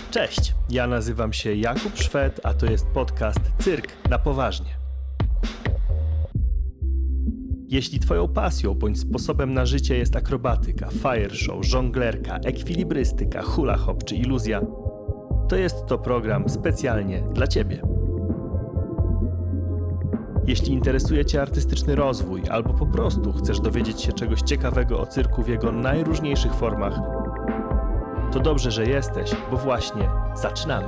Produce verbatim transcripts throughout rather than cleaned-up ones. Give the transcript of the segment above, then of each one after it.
Cześć, ja nazywam się Jakub Szwed, a to jest podcast Cyrk na poważnie. Jeśli twoją pasją bądź sposobem na życie jest akrobatyka, fire show, żonglerka, ekwilibrystyka, hula hop czy iluzja, to jest to program specjalnie dla ciebie. Jeśli interesuje cię artystyczny rozwój albo po prostu chcesz dowiedzieć się czegoś ciekawego o cyrku w jego najróżniejszych formach, to dobrze, że jesteś, bo właśnie zaczynamy.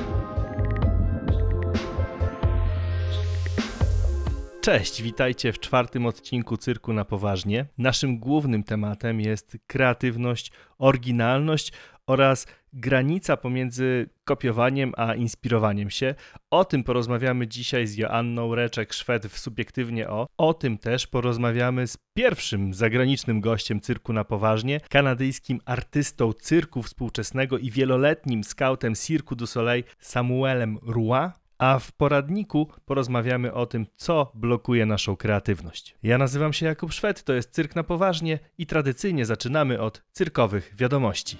Cześć, witajcie w czwartym odcinku Cyrku na poważnie. Naszym głównym tematem jest kreatywność, oryginalność oraz granica pomiędzy kopiowaniem a inspirowaniem się. O tym porozmawiamy dzisiaj z Joanną Reczek-Szwed w Subiektywnie O. O tym też porozmawiamy z pierwszym zagranicznym gościem Cyrku na poważnie, kanadyjskim artystą cyrku współczesnego i wieloletnim skautem Cirque du Soleil Samuelem Roy. A w poradniku porozmawiamy o tym, co blokuje naszą kreatywność. Ja nazywam się Jakub Szwed, to jest Cyrk na poważnie i tradycyjnie zaczynamy od cyrkowych wiadomości.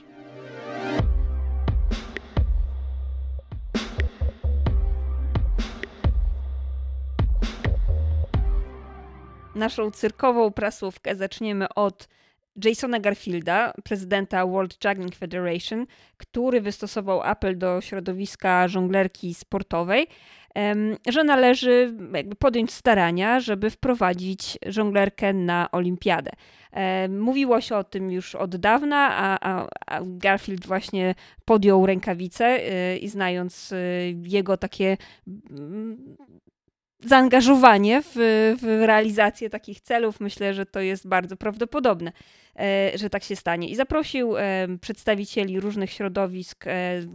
Naszą cyrkową prasówkę zaczniemy od Jasona Garfielda, prezydenta World Juggling Federation, który wystosował apel do środowiska żonglerki sportowej, że należy jakby podjąć starania, żeby wprowadzić żonglerkę na olimpiadę. Mówiło się o tym już od dawna, a, a, a Garfield właśnie podjął rękawice i znając jego takie zaangażowanie w, w realizację takich celów, myślę, że to jest bardzo prawdopodobne, że tak się stanie. I zaprosił przedstawicieli różnych środowisk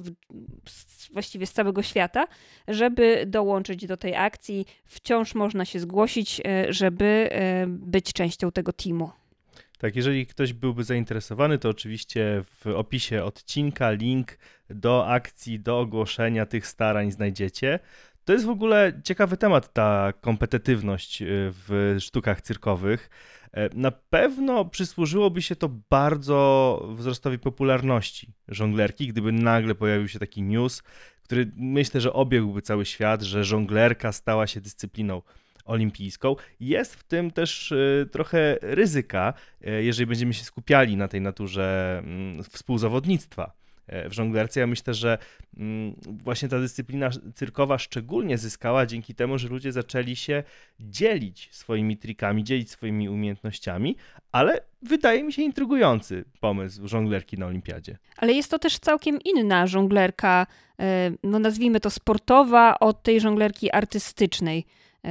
właściwie z całego świata, żeby dołączyć do tej akcji. Wciąż można się zgłosić, żeby być częścią tego teamu. Tak, jeżeli ktoś byłby zainteresowany, to oczywiście w opisie odcinka link do akcji, do ogłoszenia tych starań znajdziecie. To jest w ogóle ciekawy temat, ta kompetytywność w sztukach cyrkowych. Na pewno przysłużyłoby się to bardzo wzrostowi popularności żonglerki, gdyby nagle pojawił się taki news, który myślę, że obiegłby cały świat, że żonglerka stała się dyscypliną olimpijską. Jest w tym też trochę ryzyka, jeżeli będziemy się skupiali na tej naturze współzawodnictwa w żonglerce. Ja myślę, że właśnie ta dyscyplina cyrkowa szczególnie zyskała dzięki temu, że ludzie zaczęli się dzielić swoimi trikami, dzielić swoimi umiejętnościami, ale wydaje mi się intrygujący pomysł żonglerki na olimpiadzie. Ale jest to też całkiem inna żonglerka, no nazwijmy to sportowa, od tej żonglerki artystycznej,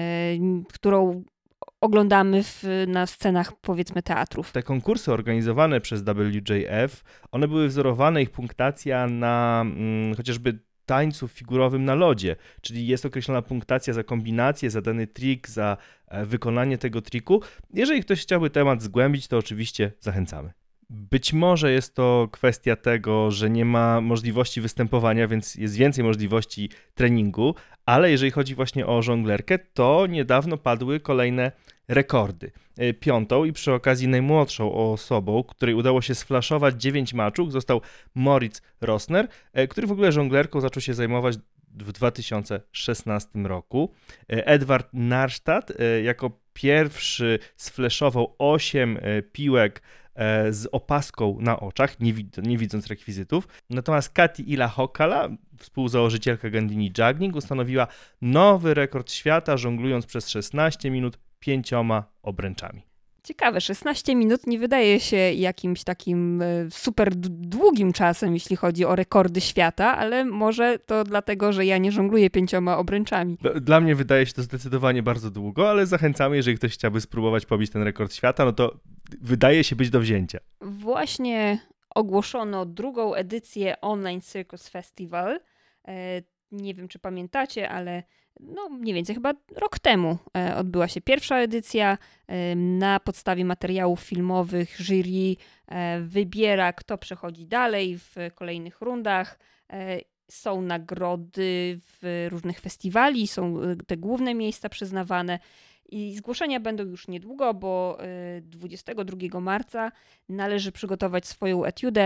którą oglądamy w, na scenach, powiedzmy, teatrów. Te konkursy organizowane przez W J F, one były wzorowane, ich punktacja na mm, chociażby tańcu figurowym na lodzie, czyli jest określona punktacja za kombinację, za dany trik, za e, wykonanie tego triku. Jeżeli ktoś chciałby temat zgłębić, to oczywiście zachęcamy. Być może jest to kwestia tego, że nie ma możliwości występowania, więc jest więcej możliwości treningu, ale jeżeli chodzi właśnie o żonglerkę, to niedawno padły kolejne rekordy. Piątą i przy okazji najmłodszą osobą, której udało się sflaszować dziewięć maczug, został Moritz Rosner, który w ogóle żonglerką zaczął się zajmować w dwa tysiące szesnastym roku. Edward Narstadt jako pierwszy sflaszował osiem piłek z opaską na oczach, nie, wid- nie widząc rekwizytów. Natomiast Kati Ila-Hokala, współzałożycielka Gandini Juggling, ustanowiła nowy rekord świata, żonglując przez szesnaście minut pięcioma obręczami. Ciekawe, szesnaście minut nie wydaje się jakimś takim super długim czasem, jeśli chodzi o rekordy świata, ale może to dlatego, że ja nie żongluję pięcioma obręczami. Dla mnie wydaje się to zdecydowanie bardzo długo, ale zachęcamy, jeżeli ktoś chciałby spróbować pobić ten rekord świata, no to wydaje się być do wzięcia. Właśnie ogłoszono drugą edycję Online Circus Festival. Nie wiem, czy pamiętacie, ale no mniej więcej chyba rok temu odbyła się pierwsza edycja. Na podstawie materiałów filmowych jury wybiera, kto przechodzi dalej w kolejnych rundach. Są nagrody w różnych festiwali, są te główne miejsca przyznawane. I zgłoszenia będą już niedługo, bo dwudziestego drugiego marca należy przygotować swoją etiudę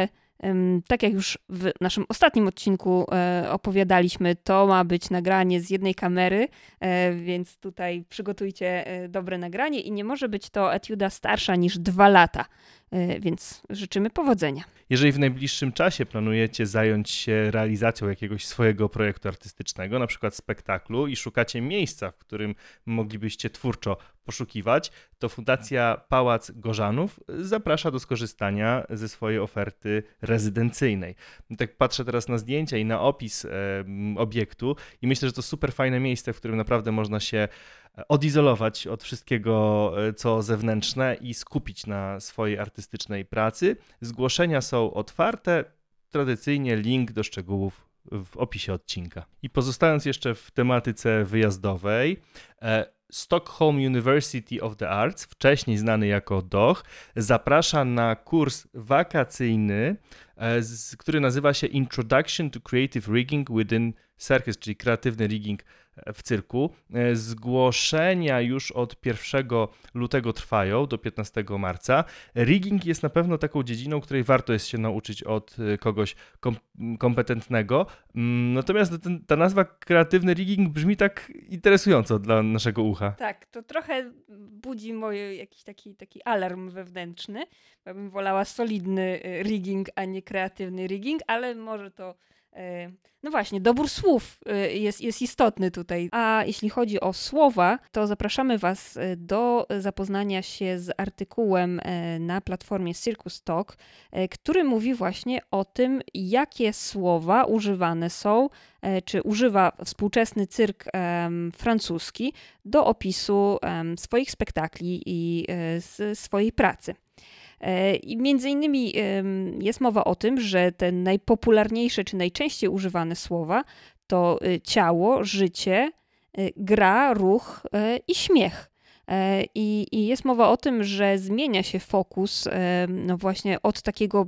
Tak jak już w naszym ostatnim odcinku opowiadaliśmy, to ma być nagranie z jednej kamery, więc tutaj przygotujcie dobre nagranie i nie może być to etiuda starsza niż dwa lata, więc życzymy powodzenia. Jeżeli w najbliższym czasie planujecie zająć się realizacją jakiegoś swojego projektu artystycznego, na przykład spektaklu i szukacie miejsca, w którym moglibyście twórczo poszukiwać, to Fundacja Pałac Gorzanów zaprasza do skorzystania ze swojej oferty rezydencyjnej. Tak patrzę teraz na zdjęcia i na opis e, obiektu i myślę, że to super fajne miejsce, w którym naprawdę można się odizolować od wszystkiego, co zewnętrzne i skupić na swojej artystycznej pracy. Zgłoszenia są otwarte, tradycyjnie link do szczegółów w opisie odcinka. I pozostając jeszcze w tematyce wyjazdowej, Stockholm University of the Arts, wcześniej znany jako D O H, zaprasza na kurs wakacyjny, który nazywa się Introduction to Creative Rigging Within Circus, czyli kreatywny rigging w cyrku. Zgłoszenia już od pierwszego lutego trwają do piętnastego marca. Rigging jest na pewno taką dziedziną, której warto jest się nauczyć od kogoś kom- kompetentnego. Natomiast ten, ta nazwa kreatywny rigging brzmi tak interesująco dla naszego ucha. Tak, to trochę budzi mój jakiś taki, taki alarm wewnętrzny. Ja bym wolała solidny rigging, a nie kreatywny rigging, ale może to... No właśnie, dobór słów jest, jest istotny tutaj. A jeśli chodzi o słowa, to zapraszamy Was do zapoznania się z artykułem na platformie Circus Talk, który mówi właśnie o tym, jakie słowa używane są, czy używa współczesny cyrk francuski do opisu swoich spektakli i swojej pracy. I między innymi jest mowa o tym, że te najpopularniejsze czy najczęściej używane słowa to ciało, życie, gra, ruch i śmiech. I, i jest mowa o tym, że zmienia się fokus no właśnie od takiego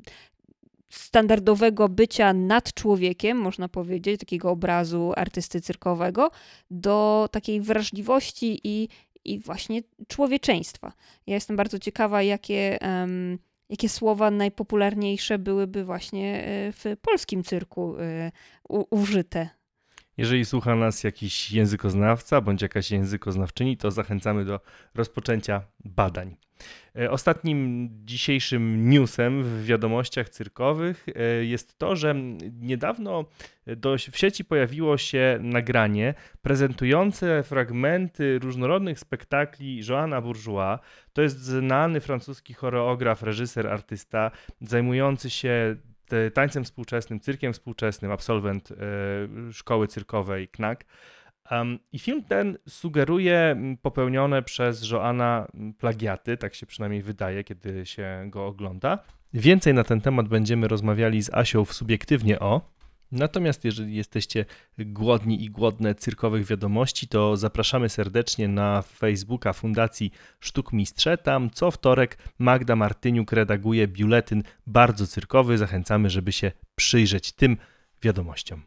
standardowego bycia nad człowiekiem, można powiedzieć, takiego obrazu artysty cyrkowego, do takiej wrażliwości i i właśnie człowieczeństwa. Ja jestem bardzo ciekawa, jakie, um, jakie słowa najpopularniejsze byłyby właśnie w polskim cyrku u, użyte. Jeżeli słucha nas jakiś językoznawca bądź jakaś językoznawczyni, to zachęcamy do rozpoczęcia badań. Ostatnim dzisiejszym newsem w wiadomościach cyrkowych jest to, że niedawno do, w sieci pojawiło się nagranie prezentujące fragmenty różnorodnych spektakli Joana Bourgeois. To jest znany francuski choreograf, reżyser, artysta zajmujący się tańcem współczesnym, cyrkiem współczesnym, absolwent szkoły cyrkowej K N A K. Um, I film ten sugeruje popełnione przez Joana plagiaty, tak się przynajmniej wydaje, kiedy się go ogląda. Więcej na ten temat będziemy rozmawiali z Asią w Subiektywnie o. Natomiast jeżeli jesteście głodni i głodne cyrkowych wiadomości, to zapraszamy serdecznie na Facebooka Fundacji Sztuk Mistrze. Tam co wtorek Magda Martyniuk redaguje biuletyn bardzo cyrkowy. Zachęcamy, żeby się przyjrzeć tym wiadomościom.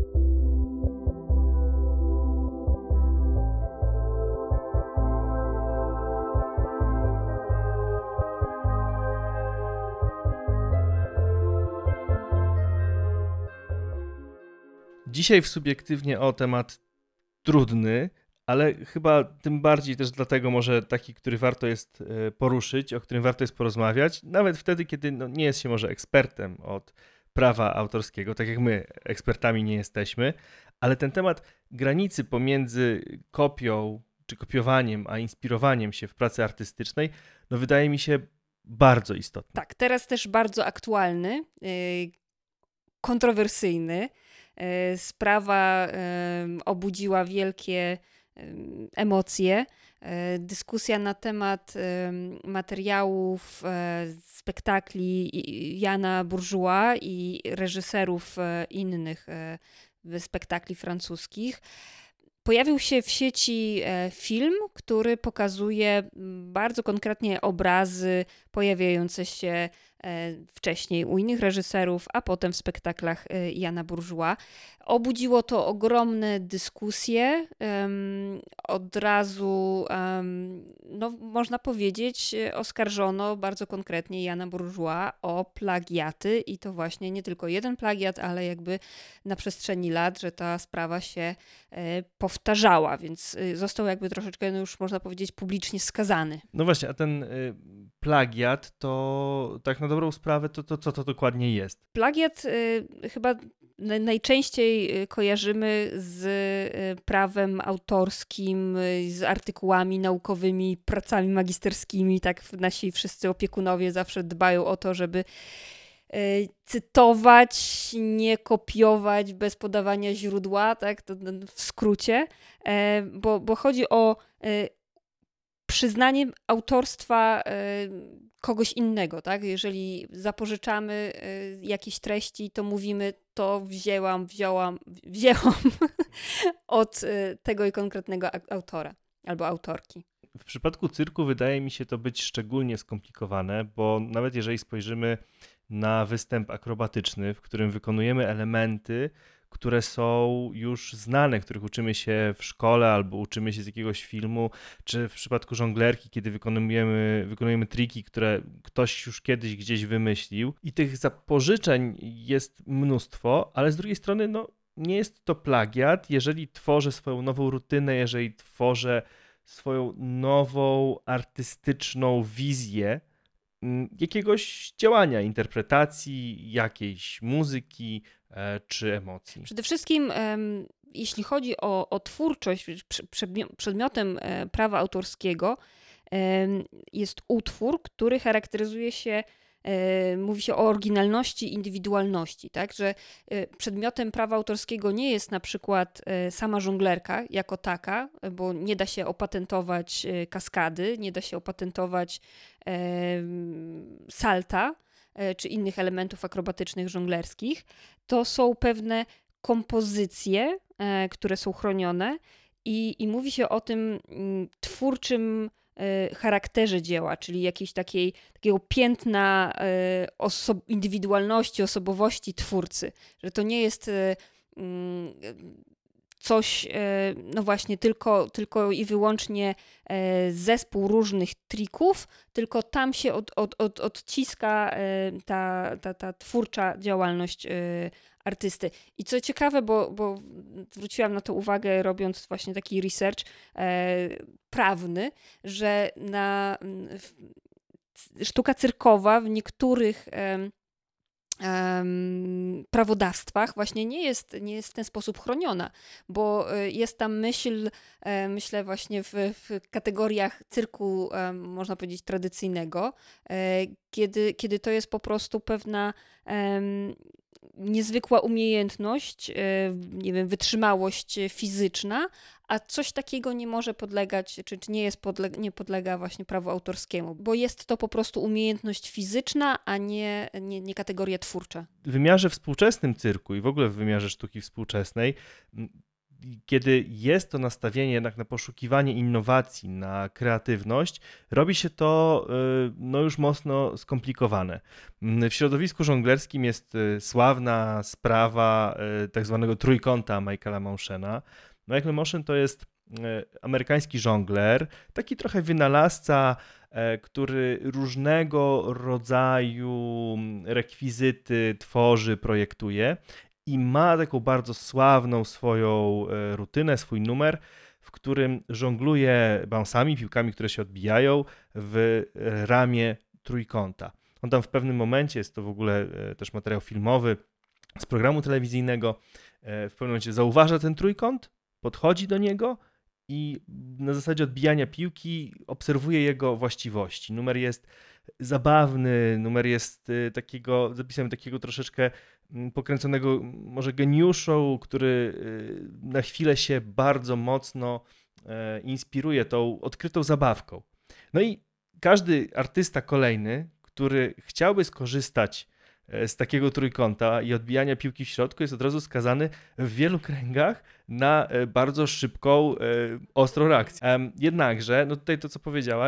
Dzisiaj w Subiektywnie o temat trudny, ale chyba tym bardziej też dlatego może taki, który warto jest poruszyć, o którym warto jest porozmawiać, nawet wtedy, kiedy no, nie jest się może ekspertem od prawa autorskiego, tak jak my ekspertami nie jesteśmy, ale ten temat granicy pomiędzy kopią czy kopiowaniem, a inspirowaniem się w pracy artystycznej, no wydaje mi się bardzo istotny. Tak, teraz też bardzo aktualny, yy, kontrowersyjny. Sprawa obudziła wielkie emocje. Dyskusja na temat materiałów, spektakli Jana Bourgeois i reżyserów innych spektakli francuskich. Pojawił się w sieci film, który pokazuje bardzo konkretnie obrazy pojawiające się wcześniej u innych reżyserów, a potem w spektaklach Jana Bourgeois. Obudziło to ogromne dyskusje. Um, od razu, um, no, można powiedzieć, oskarżono bardzo konkretnie Jana Bourgeois o plagiaty i to właśnie nie tylko jeden plagiat, ale jakby na przestrzeni lat, że ta sprawa się e, powtarzała, więc e, został jakby troszeczkę, no już można powiedzieć, publicznie skazany. No właśnie, a ten y, plagiat to tak na dobrą sprawę, to, to co to dokładnie jest? Plagiat y, chyba najczęściej kojarzymy z prawem autorskim, z artykułami naukowymi, pracami magisterskimi. Tak nasi wszyscy opiekunowie zawsze dbają o to, żeby cytować, nie kopiować bez podawania źródła, tak, to w skrócie, bo, bo chodzi o przyznanie autorstwa kogoś innego, tak? Jeżeli zapożyczamy jakieś treści, to mówimy, to wzięłam, wzięłam, wzięłam od tego i konkretnego autora albo autorki. W przypadku cyrku wydaje mi się to być szczególnie skomplikowane, bo nawet jeżeli spojrzymy na występ akrobatyczny, w którym wykonujemy elementy, które są już znane, których uczymy się w szkole albo uczymy się z jakiegoś filmu, czy w przypadku żonglerki, kiedy wykonujemy, wykonujemy triki, które ktoś już kiedyś gdzieś wymyślił. I tych zapożyczeń jest mnóstwo, ale z drugiej strony no, nie jest to plagiat, jeżeli tworzę swoją nową rutynę, jeżeli tworzę swoją nową artystyczną wizję jakiegoś działania, interpretacji, jakiejś muzyki e, czy emocji. Przede wszystkim, um, jeśli chodzi o, o twórczość, przedmiotem e, prawa autorskiego um, jest utwór, który charakteryzuje się, e, mówi się o oryginalności, indywidualności, tak, że e, przedmiotem prawa autorskiego nie jest na przykład e, sama żonglerka jako taka, bo nie da się opatentować e, kaskady, nie da się opatentować salta czy innych elementów akrobatycznych żonglerskich. To są pewne kompozycje, które są chronione i, i mówi się o tym twórczym charakterze dzieła, czyli jakiejś takiej, takiego piętna oso- indywidualności, osobowości twórcy. Że to nie jest coś, no właśnie, tylko, tylko i wyłącznie zespół różnych trików, tylko tam się od, od, od, odciska ta, ta, ta twórcza działalność artysty. I co ciekawe, bo, bo zwróciłam na to uwagę, robiąc właśnie taki research prawny, że na sztuka cyrkowa w niektórych Um, prawodawstwach właśnie nie jest, nie jest w ten sposób chroniona, bo jest tam myśl, um, myślę właśnie w, w kategoriach cyrku, um, można powiedzieć, tradycyjnego, um, kiedy, kiedy to jest po prostu pewna um, niezwykła umiejętność, nie wiem, wytrzymałość fizyczna, a coś takiego nie może podlegać, czy, czy nie, jest podle- nie podlega właśnie prawu autorskiemu, bo jest to po prostu umiejętność fizyczna, a nie, nie, nie kategoria twórcza. W wymiarze współczesnym cyrku i w ogóle w wymiarze sztuki współczesnej, kiedy jest to nastawienie jednak na poszukiwanie innowacji, na kreatywność, robi się to no, już mocno skomplikowane. W środowisku żonglerskim jest sławna sprawa tak zwanego trójkąta Michaela Moschena. Michael Moschen to jest amerykański żongler, taki trochę wynalazca, który różnego rodzaju rekwizyty tworzy, projektuje. I ma taką bardzo sławną swoją rutynę, swój numer, w którym żongluje bounsami, piłkami, które się odbijają w ramię trójkąta. On tam w pewnym momencie, jest to w ogóle też materiał filmowy z programu telewizyjnego, w pewnym momencie zauważa ten trójkąt, podchodzi do niego i na zasadzie odbijania piłki obserwuje jego właściwości. Numer jest zabawny, numer jest takiego, zapisem takiego troszeczkę pokręconego może geniuszu, który na chwilę się bardzo mocno inspiruje tą odkrytą zabawką. No i każdy artysta kolejny, który chciałby skorzystać z takiego trójkąta i odbijania piłki w środku, jest od razu skazany w wielu kręgach na bardzo szybką, ostrą reakcję. Jednakże, no tutaj to co powiedziałaś,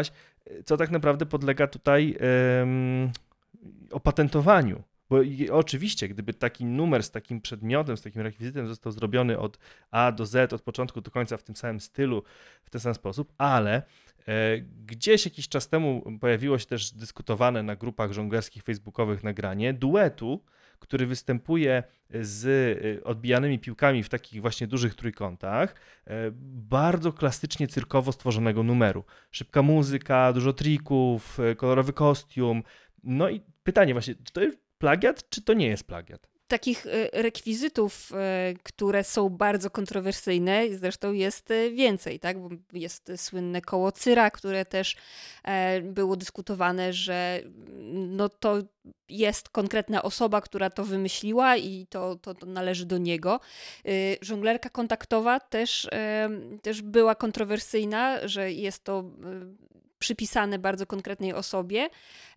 co tak naprawdę podlega tutaj um, opatentowaniu. Bo oczywiście, gdyby taki numer z takim przedmiotem, z takim rekwizytem został zrobiony od A do Z, od początku do końca w tym samym stylu, w ten sam sposób, ale e, gdzieś jakiś czas temu pojawiło się też dyskutowane na grupach żonglerskich facebookowych nagranie duetu, który występuje z odbijanymi piłkami w takich właśnie dużych trójkątach, e, bardzo klasycznie cyrkowo stworzonego numeru. Szybka muzyka, dużo trików, e, kolorowy kostium. No i pytanie właśnie, czy to jest plagiat, czy to nie jest plagiat? Takich rekwizytów, które są bardzo kontrowersyjne, zresztą jest więcej, tak? Bo jest słynne koło Cyra, które też było dyskutowane, że no to jest konkretna osoba, która to wymyśliła i to, to, to należy do niego. Żonglerka kontaktowa też, też była kontrowersyjna, że jest to przypisane bardzo konkretnej osobie.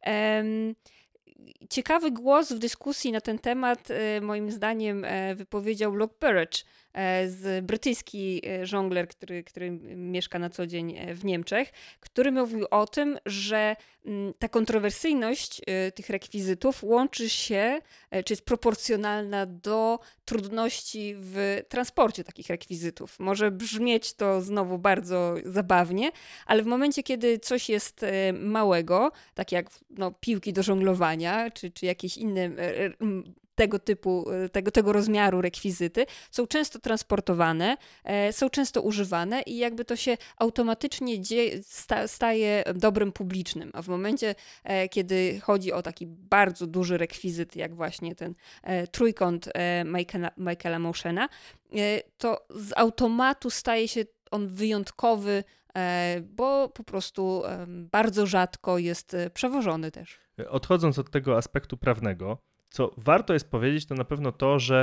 Ciekawy głos w dyskusji na ten temat moim zdaniem wypowiedział Luke Burrage, z brytyjski żongler, który, który mieszka na co dzień w Niemczech, który mówił o tym, że ta kontrowersyjność tych rekwizytów łączy się, czy jest proporcjonalna do trudności w transporcie takich rekwizytów. Może brzmieć to znowu bardzo zabawnie, ale w momencie, kiedy coś jest małego, tak jak no, piłki do żonglowania, czy, czy jakieś inne tego typu, tego, tego rozmiaru rekwizyty, są często transportowane, e, są często używane i jakby to się automatycznie dzieje, sta, staje dobrem publicznym. A w momencie, e, kiedy chodzi o taki bardzo duży rekwizyt, jak właśnie ten e, trójkąt e, Michaela, Michaela Motiona, e, to z automatu staje się on wyjątkowy, e, bo po prostu e, bardzo rzadko jest przewożony też. Odchodząc od tego aspektu prawnego, co warto jest powiedzieć, to na pewno to, że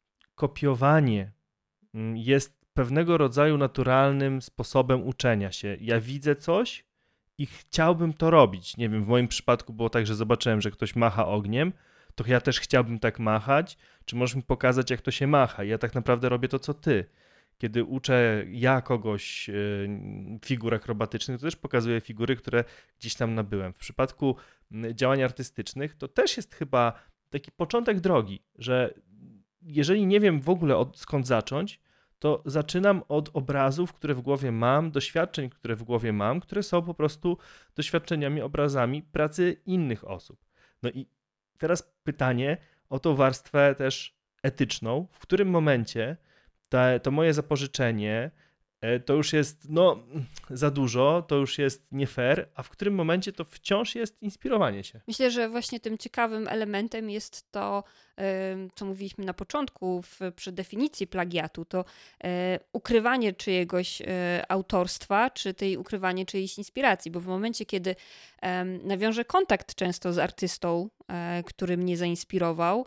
kopiowanie jest pewnego rodzaju naturalnym sposobem uczenia się. Ja widzę coś i chciałbym to robić. Nie wiem, w moim przypadku było tak, że zobaczyłem, że ktoś macha ogniem, to ja też chciałbym tak machać. Czy możesz mi pokazać, jak to się macha? Ja tak naprawdę robię to, co ty. Kiedy uczę ja kogoś yy, figur akrobatycznych, to też pokazuję figury, które gdzieś tam nabyłem. W przypadku yy, działań artystycznych to też jest chyba taki początek drogi, że jeżeli nie wiem w ogóle od, skąd zacząć, to zaczynam od obrazów, które w głowie mam, doświadczeń, które w głowie mam, które są po prostu doświadczeniami, obrazami pracy innych osób. No i teraz pytanie o tą warstwę też etyczną, w którym momencie te, to moje zapożyczenie to już jest no, za dużo, to już jest nie fair, a w którym momencie to wciąż jest inspirowanie się. Myślę, że właśnie tym ciekawym elementem jest to, co mówiliśmy na początku w, przy definicji plagiatu, to ukrywanie czyjegoś autorstwa, czy tej ukrywanie czyjejś inspiracji, bo w momencie, kiedy nawiążę kontakt często z artystą, który mnie zainspirował,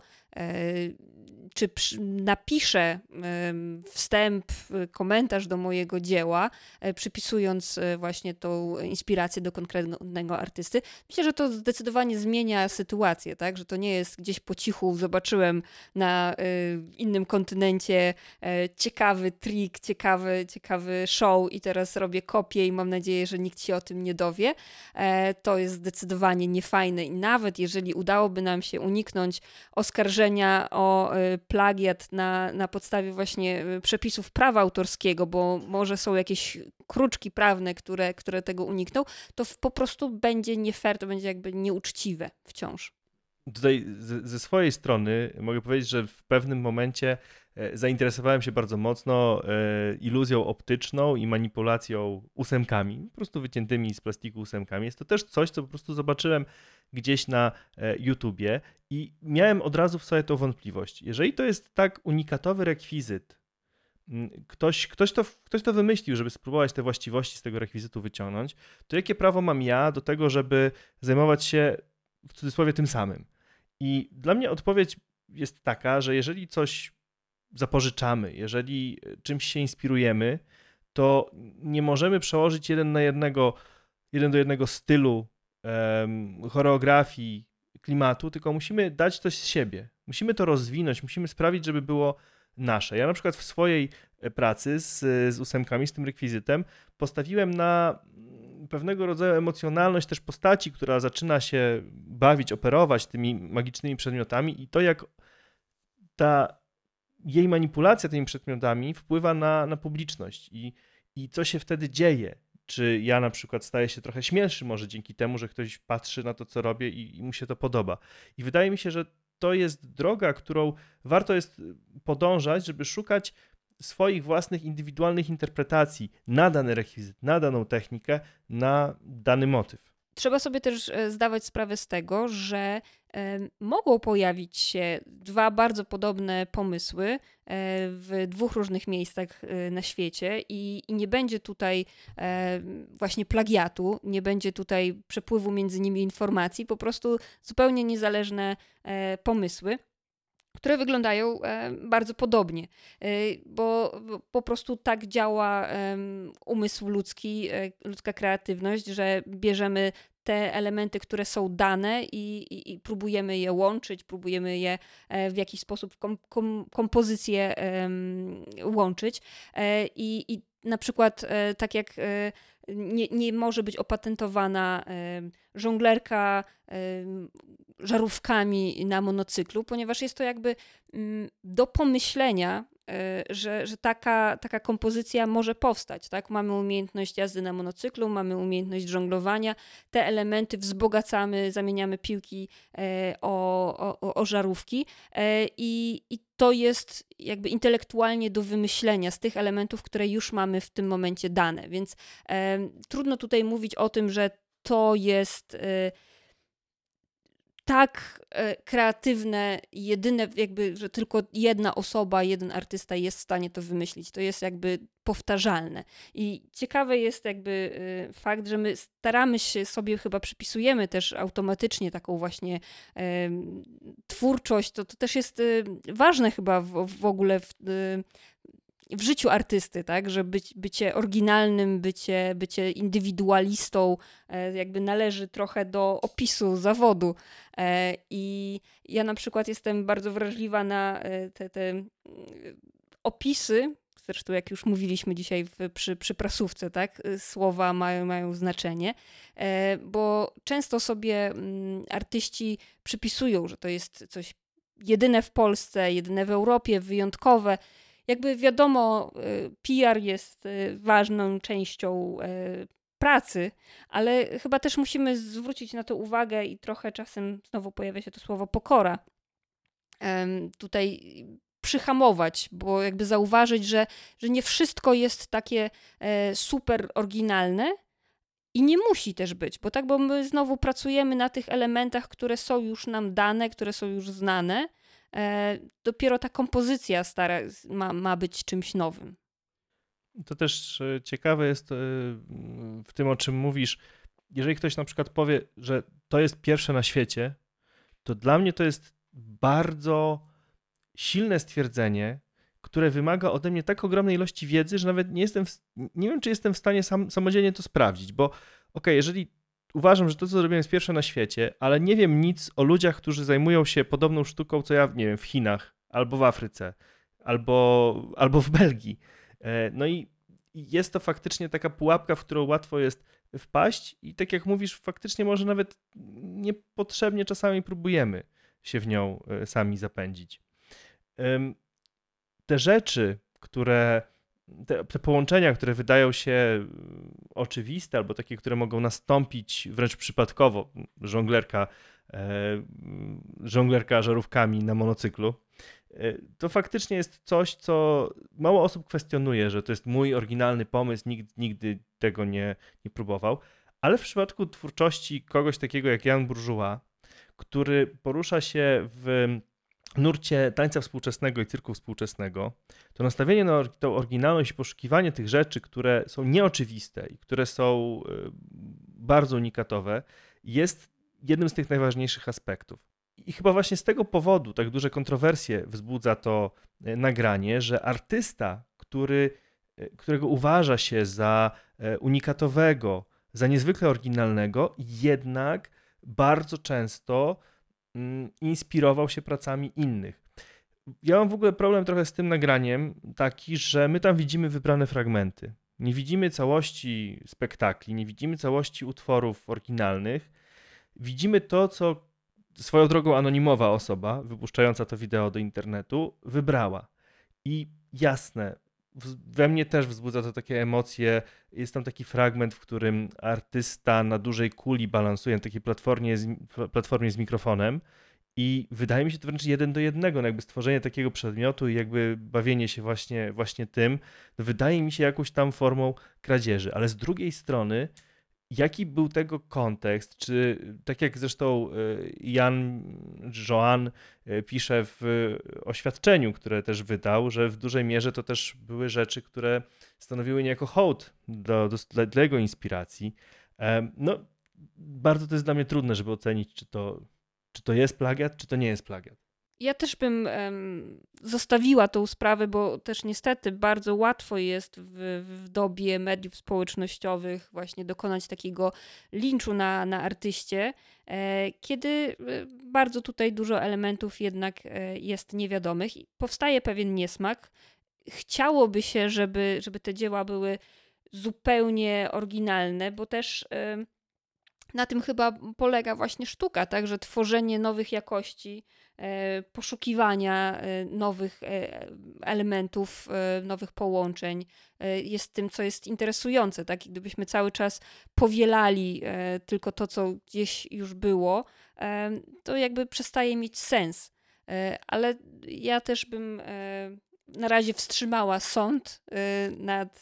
czy napiszę wstęp, komentarz do mojego dzieła, przypisując właśnie tą inspirację do konkretnego artysty, myślę, że to zdecydowanie zmienia sytuację, tak? Że to nie jest gdzieś po cichu, zobaczyłem na innym kontynencie ciekawy trik, ciekawy, ciekawy show i teraz robię kopię i mam nadzieję, że nikt się o tym nie dowie. To jest zdecydowanie niefajne i nawet jeżeli udałoby nam się uniknąć oskarżenia o plagiat na, na podstawie właśnie przepisów prawa autorskiego, bo może są jakieś kruczki prawne, które, które tego unikną, to po prostu będzie nie fair, to będzie jakby nieuczciwe wciąż. Tutaj z, ze swojej strony mogę powiedzieć, że w pewnym momencie zainteresowałem się bardzo mocno iluzją optyczną i manipulacją ósemkami, po prostu wyciętymi z plastiku ósemkami. Jest to też coś, co po prostu zobaczyłem gdzieś na YouTubie i miałem od razu w sobie tą wątpliwość. Jeżeli to jest tak unikatowy rekwizyt, ktoś, ktoś, to, ktoś to wymyślił, żeby spróbować te właściwości z tego rekwizytu wyciągnąć, to jakie prawo mam ja do tego, żeby zajmować się w cudzysłowie tym samym? I dla mnie odpowiedź jest taka, że jeżeli coś zapożyczamy, jeżeli czymś się inspirujemy, to nie możemy przełożyć jeden na jednego, jeden do jednego stylu, um, choreografii, klimatu, tylko musimy dać coś z siebie. Musimy to rozwinąć, musimy sprawić, żeby było nasze. Ja na przykład w swojej pracy z, z ósemkami, z tym rekwizytem postawiłem na pewnego rodzaju emocjonalność też postaci, która zaczyna się bawić, operować tymi magicznymi przedmiotami i to, jak ta jej manipulacja tymi przedmiotami wpływa na, na publiczność i, i co się wtedy dzieje. Czy ja na przykład staję się trochę śmielszy może dzięki temu, że ktoś patrzy na to, co robię i, i mu się to podoba. I wydaje mi się, że to jest droga, którą warto jest podążać, żeby szukać swoich własnych indywidualnych interpretacji na dany rekwizyt, na daną technikę, na dany motyw. Trzeba sobie też zdawać sprawę z tego, że mogą pojawić się dwa bardzo podobne pomysły w dwóch różnych miejscach na świecie i, i nie będzie tutaj właśnie plagiatu, nie będzie tutaj przepływu między nimi informacji, po prostu zupełnie niezależne pomysły, które wyglądają bardzo podobnie, bo po prostu tak działa umysł ludzki, ludzka kreatywność, że bierzemy te elementy, które są dane i, i, i próbujemy je łączyć, próbujemy je w jakiś sposób kom, kom, kompozycję um, łączyć I, i na przykład tak jak nie, nie może być opatentowana żonglerka żarówkami na monocyklu, ponieważ jest to jakby do pomyślenia, że, że taka, taka kompozycja może powstać. Tak? Mamy umiejętność jazdy na monocyklu, mamy umiejętność żonglowania, te elementy wzbogacamy, zamieniamy piłki o, o, o żarówki i, i to jest jakby intelektualnie do wymyślenia z tych elementów, które już mamy w tym momencie dane, więc e, trudno tutaj mówić o tym, że to jest e, tak e, kreatywne, jedyne jakby, że tylko jedna osoba, jeden artysta jest w stanie to wymyślić. To jest jakby powtarzalne. I ciekawy jest jakby e, fakt, że my staramy się sobie, chyba przypisujemy też automatycznie taką właśnie e, twórczość. To, to też jest e, ważne chyba w, w ogóle w, e, w życiu artysty, tak, że być, bycie oryginalnym, bycie, bycie indywidualistą jakby należy trochę do opisu zawodu. I ja na przykład jestem bardzo wrażliwa na te, te opisy, zresztą jak już mówiliśmy dzisiaj w, przy, przy prasówce, tak, słowa mają, mają znaczenie, bo często sobie artyści przypisują, że to jest coś jedyne w Polsce, jedyne w Europie, wyjątkowe. Jakby wiadomo, P R jest ważną częścią pracy, ale chyba też musimy zwrócić na to uwagę i trochę czasem znowu pojawia się to słowo pokora. Tutaj przyhamować, bo jakby zauważyć, że, że nie wszystko jest takie super oryginalne i nie musi też być, bo tak, bo my znowu pracujemy na tych elementach, które są już nam dane, które są już znane. E, dopiero ta kompozycja stara ma, ma być czymś nowym. To też ciekawe jest w tym, o czym mówisz. Jeżeli ktoś na przykład powie, że to jest pierwsze na świecie, to dla mnie to jest bardzo silne stwierdzenie, które wymaga ode mnie tak ogromnej ilości wiedzy, że nawet nie jestem, w, nie wiem, czy jestem w stanie sam, samodzielnie to sprawdzić, bo okej, okay, jeżeli uważam, że to, co zrobiłem, jest pierwsze na świecie, ale nie wiem nic o ludziach, którzy zajmują się podobną sztuką, co ja, nie wiem, w Chinach, albo w Afryce, albo, albo w Belgii. No i jest to faktycznie taka pułapka, w którą łatwo jest wpaść i tak jak mówisz, faktycznie może nawet niepotrzebnie czasami próbujemy się w nią sami zapędzić. Te rzeczy, które Te, te połączenia, które wydają się oczywiste albo takie, które mogą nastąpić wręcz przypadkowo, żonglerka, e, żonglerka żarówkami na monocyklu, e, to faktycznie jest coś, co mało osób kwestionuje, że to jest mój oryginalny pomysł, nikt nigdy tego nie, nie próbował, ale w przypadku twórczości kogoś takiego jak Jan Bourgeois, który porusza się w nurcie tańca współczesnego i cyrku współczesnego, to nastawienie na tą oryginalność i poszukiwanie tych rzeczy, które są nieoczywiste i które są bardzo unikatowe, jest jednym z tych najważniejszych aspektów. I chyba właśnie z tego powodu tak duże kontrowersje wzbudza to nagranie, że artysta, który, którego uważa się za unikatowego, za niezwykle oryginalnego, jednak bardzo często inspirował się pracami innych. Ja mam w ogóle problem trochę z tym nagraniem taki, że my tam widzimy wybrane fragmenty. Nie widzimy całości spektakli, nie widzimy całości utworów oryginalnych. Widzimy to, co swoją drogą anonimowa osoba, wypuszczająca to wideo do internetu, wybrała. I jasne, we mnie też wzbudza to takie emocje. Jest tam taki fragment, w którym artysta na dużej kuli balansuje na takiej platformie z, platformie z mikrofonem i wydaje mi się to wręcz jeden do jednego, no jakby stworzenie takiego przedmiotu i jakby bawienie się właśnie, właśnie tym, no wydaje mi się jakąś tam formą kradzieży, ale z drugiej strony jaki był tego kontekst? Czy tak jak zresztą Jan Joan pisze w oświadczeniu, które też wydał, że w dużej mierze to też były rzeczy, które stanowiły niejako hołd do, do, dla jego inspiracji. No, bardzo to jest dla mnie trudne, żeby ocenić, czy to, czy to jest plagiat, czy to nie jest plagiat. Ja też bym um, zostawiła tą sprawę, bo też niestety bardzo łatwo jest w, w dobie mediów społecznościowych właśnie dokonać takiego linczu na, na artyście, e, kiedy bardzo tutaj dużo elementów jednak e, jest niewiadomych i powstaje pewien niesmak. Chciałoby się, żeby, żeby te dzieła były zupełnie oryginalne, bo też e, na tym chyba polega właśnie sztuka, tak, że tworzenie nowych jakości, poszukiwania nowych elementów, nowych połączeń jest tym, co jest interesujące. Tak? I gdybyśmy cały czas powielali tylko to, co gdzieś już było, to jakby przestaje mieć sens. Ale ja też bym na razie wstrzymała sąd nad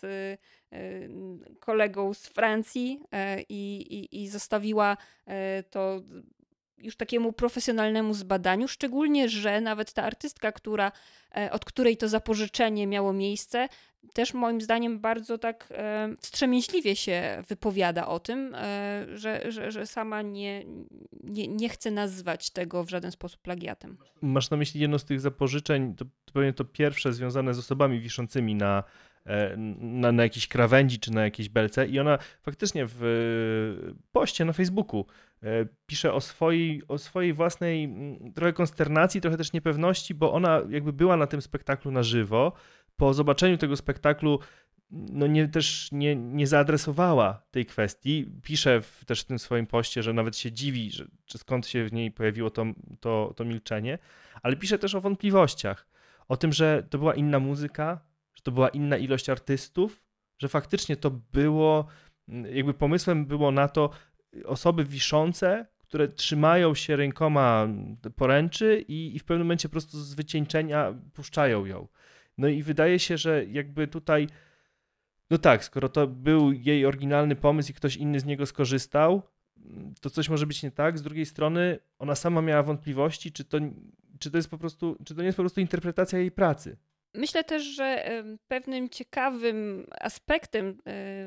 kolegą z Francji i, i, i zostawiła to już takiemu profesjonalnemu zbadaniu, szczególnie, że nawet ta artystka, która, od której to zapożyczenie miało miejsce, też moim zdaniem bardzo tak wstrzemięźliwie się wypowiada o tym, że, że, że sama nie, nie, nie chce nazwać tego w żaden sposób plagiatem. Masz na myśli jedno z tych zapożyczeń, to, to pewnie to pierwsze związane z osobami wiszącymi na Na, na jakiejś krawędzi czy na jakiejś belce i ona faktycznie w poście na Facebooku pisze o swojej, o swojej własnej trochę konsternacji, trochę też niepewności, bo ona jakby była na tym spektaklu na żywo. Po zobaczeniu tego spektaklu no nie, też nie, nie zaadresowała tej kwestii. Pisze w, też w tym swoim poście, że nawet się dziwi, że, że skąd się w niej pojawiło to, to, to milczenie, ale pisze też o wątpliwościach, o tym, że to była inna muzyka, że to była inna ilość artystów, że faktycznie to było, jakby pomysłem było na to osoby wiszące, które trzymają się rękoma poręczy i, i w pewnym momencie po prostu z wycieńczenia puszczają ją. No i wydaje się, że jakby tutaj, no tak, skoro to był jej oryginalny pomysł i ktoś inny z niego skorzystał, to coś może być nie tak. Z drugiej strony ona sama miała wątpliwości, czy to, czy to jest po prostu, czy to nie jest po prostu interpretacja jej pracy. Myślę też, że pewnym ciekawym aspektem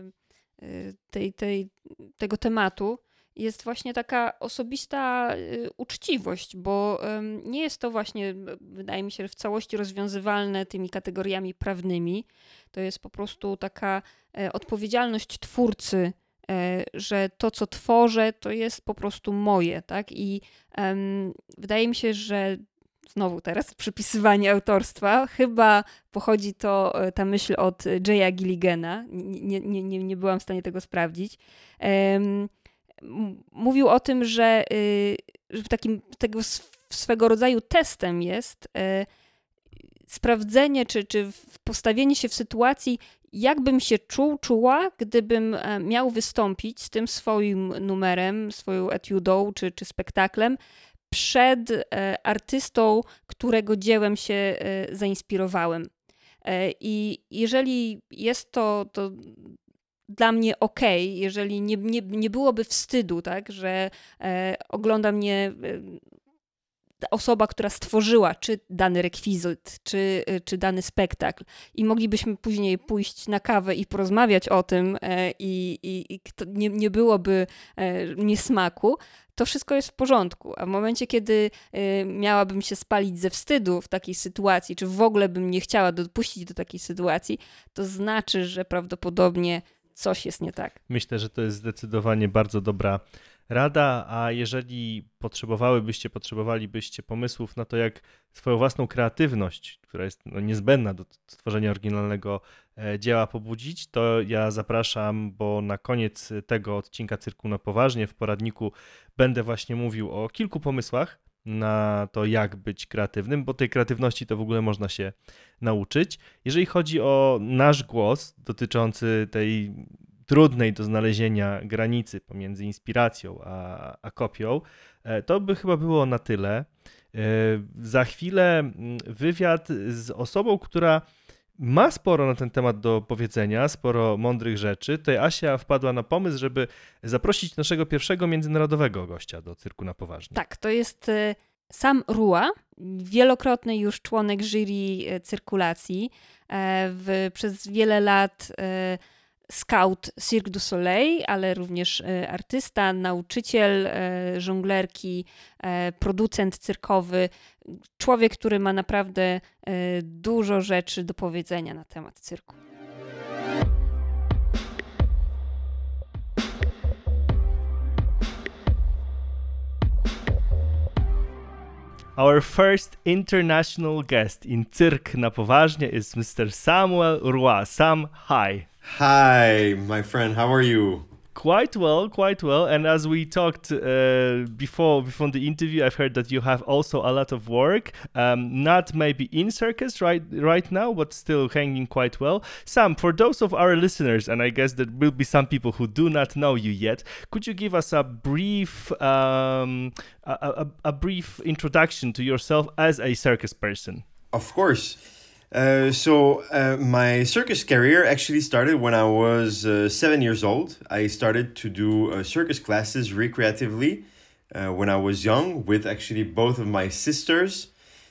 tej, tej, tego tematu jest właśnie taka osobista uczciwość, bo nie jest to właśnie, wydaje mi się, że w całości rozwiązywalne tymi kategoriami prawnymi. To jest po prostu taka odpowiedzialność twórcy, że to, co tworzę, to jest po prostu moje, tak? I um, wydaje mi się, że znowu teraz przypisywanie autorstwa, chyba pochodzi to, ta myśl od Jaya Gilligana, nie, nie, nie, nie byłam w stanie tego sprawdzić. Um, mówił o tym, że, że takim tego swego rodzaju testem jest y, sprawdzenie, czy, czy postawienie się w sytuacji, jakbym się czuł, czuła, gdybym miał wystąpić z tym swoim numerem, swoją etiudą czy, czy spektaklem przed artystą, którego dziełem się zainspirowałem. I jeżeli jest to, to dla mnie okej, okay, jeżeli nie, nie, nie byłoby wstydu, tak, że ogląda mnie osoba, która stworzyła czy dany rekwizyt, czy, czy dany spektakl i moglibyśmy później pójść na kawę i porozmawiać o tym i, i, i nie, nie byłoby niesmaku, to wszystko jest w porządku. A w momencie, kiedy miałabym się spalić ze wstydu w takiej sytuacji, czy w ogóle bym nie chciała dopuścić do takiej sytuacji, to znaczy, że prawdopodobnie coś jest nie tak. Myślę, że to jest zdecydowanie bardzo dobra rada, a jeżeli potrzebowałybyście, potrzebowalibyście pomysłów na to, jak swoją własną kreatywność, która jest no, niezbędna do stworzenia oryginalnego e, dzieła pobudzić, to ja zapraszam, bo na koniec tego odcinka Cyrku na Poważnie w poradniku będę właśnie mówił o kilku pomysłach na to, jak być kreatywnym, bo tej kreatywności to w ogóle można się nauczyć. Jeżeli chodzi o nasz głos dotyczący tej trudnej do znalezienia granicy pomiędzy inspiracją a, a kopią, to by chyba było na tyle. Za chwilę wywiad z osobą, która ma sporo na ten temat do powiedzenia, sporo mądrych rzeczy. Tutaj Asia wpadła na pomysł, żeby zaprosić naszego pierwszego międzynarodowego gościa do Cyrku na Poważnie. Tak, to jest Sam Rua, wielokrotny już członek jury cyrkulacji. W, przez wiele lat scout Cirque du Soleil, ale również artysta, nauczyciel żonglerki, producent cyrkowy. Człowiek, który ma naprawdę dużo rzeczy do powiedzenia na temat cyrku. Our first international guest in Cyrk na Poważnie is Mister Samuel Rua. Sam, hi. Hi, my friend. How are you? Quite well, quite well. And as we talked uh, before before the interview, I've heard that you have also a lot of work. Um, not maybe in circus right right now, but still hanging quite well. Sam, for those of our listeners, and I guess there will be some people who do not know you yet, could you give us a brief um, a, a, a brief introduction to yourself as a circus person? Of course. Uh, so uh, my circus career actually started when I was uh, seven years old. I started to do uh, circus classes recreatively uh, when I was young with actually both of my sisters.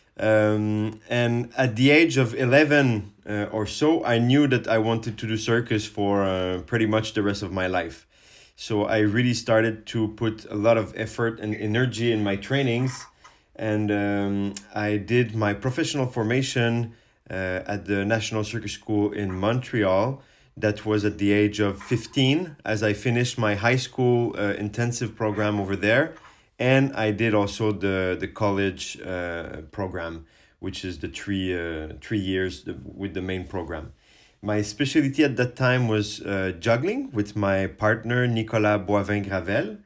Um, and at the age of eleven uh, or so, I knew that I wanted to do circus for uh, pretty much the rest of my life. So I really started to put a lot of effort and energy in my trainings. And um, I did my professional formation Uh, at the National Circus School in Montreal. That was at the age of fifteen, as I finished my high school uh, intensive program over there. And I did also the, the college uh, program, which is the three, uh, three years with the main program. My specialty at that time was uh, juggling with my partner, Nicolas Boivin-Gravel.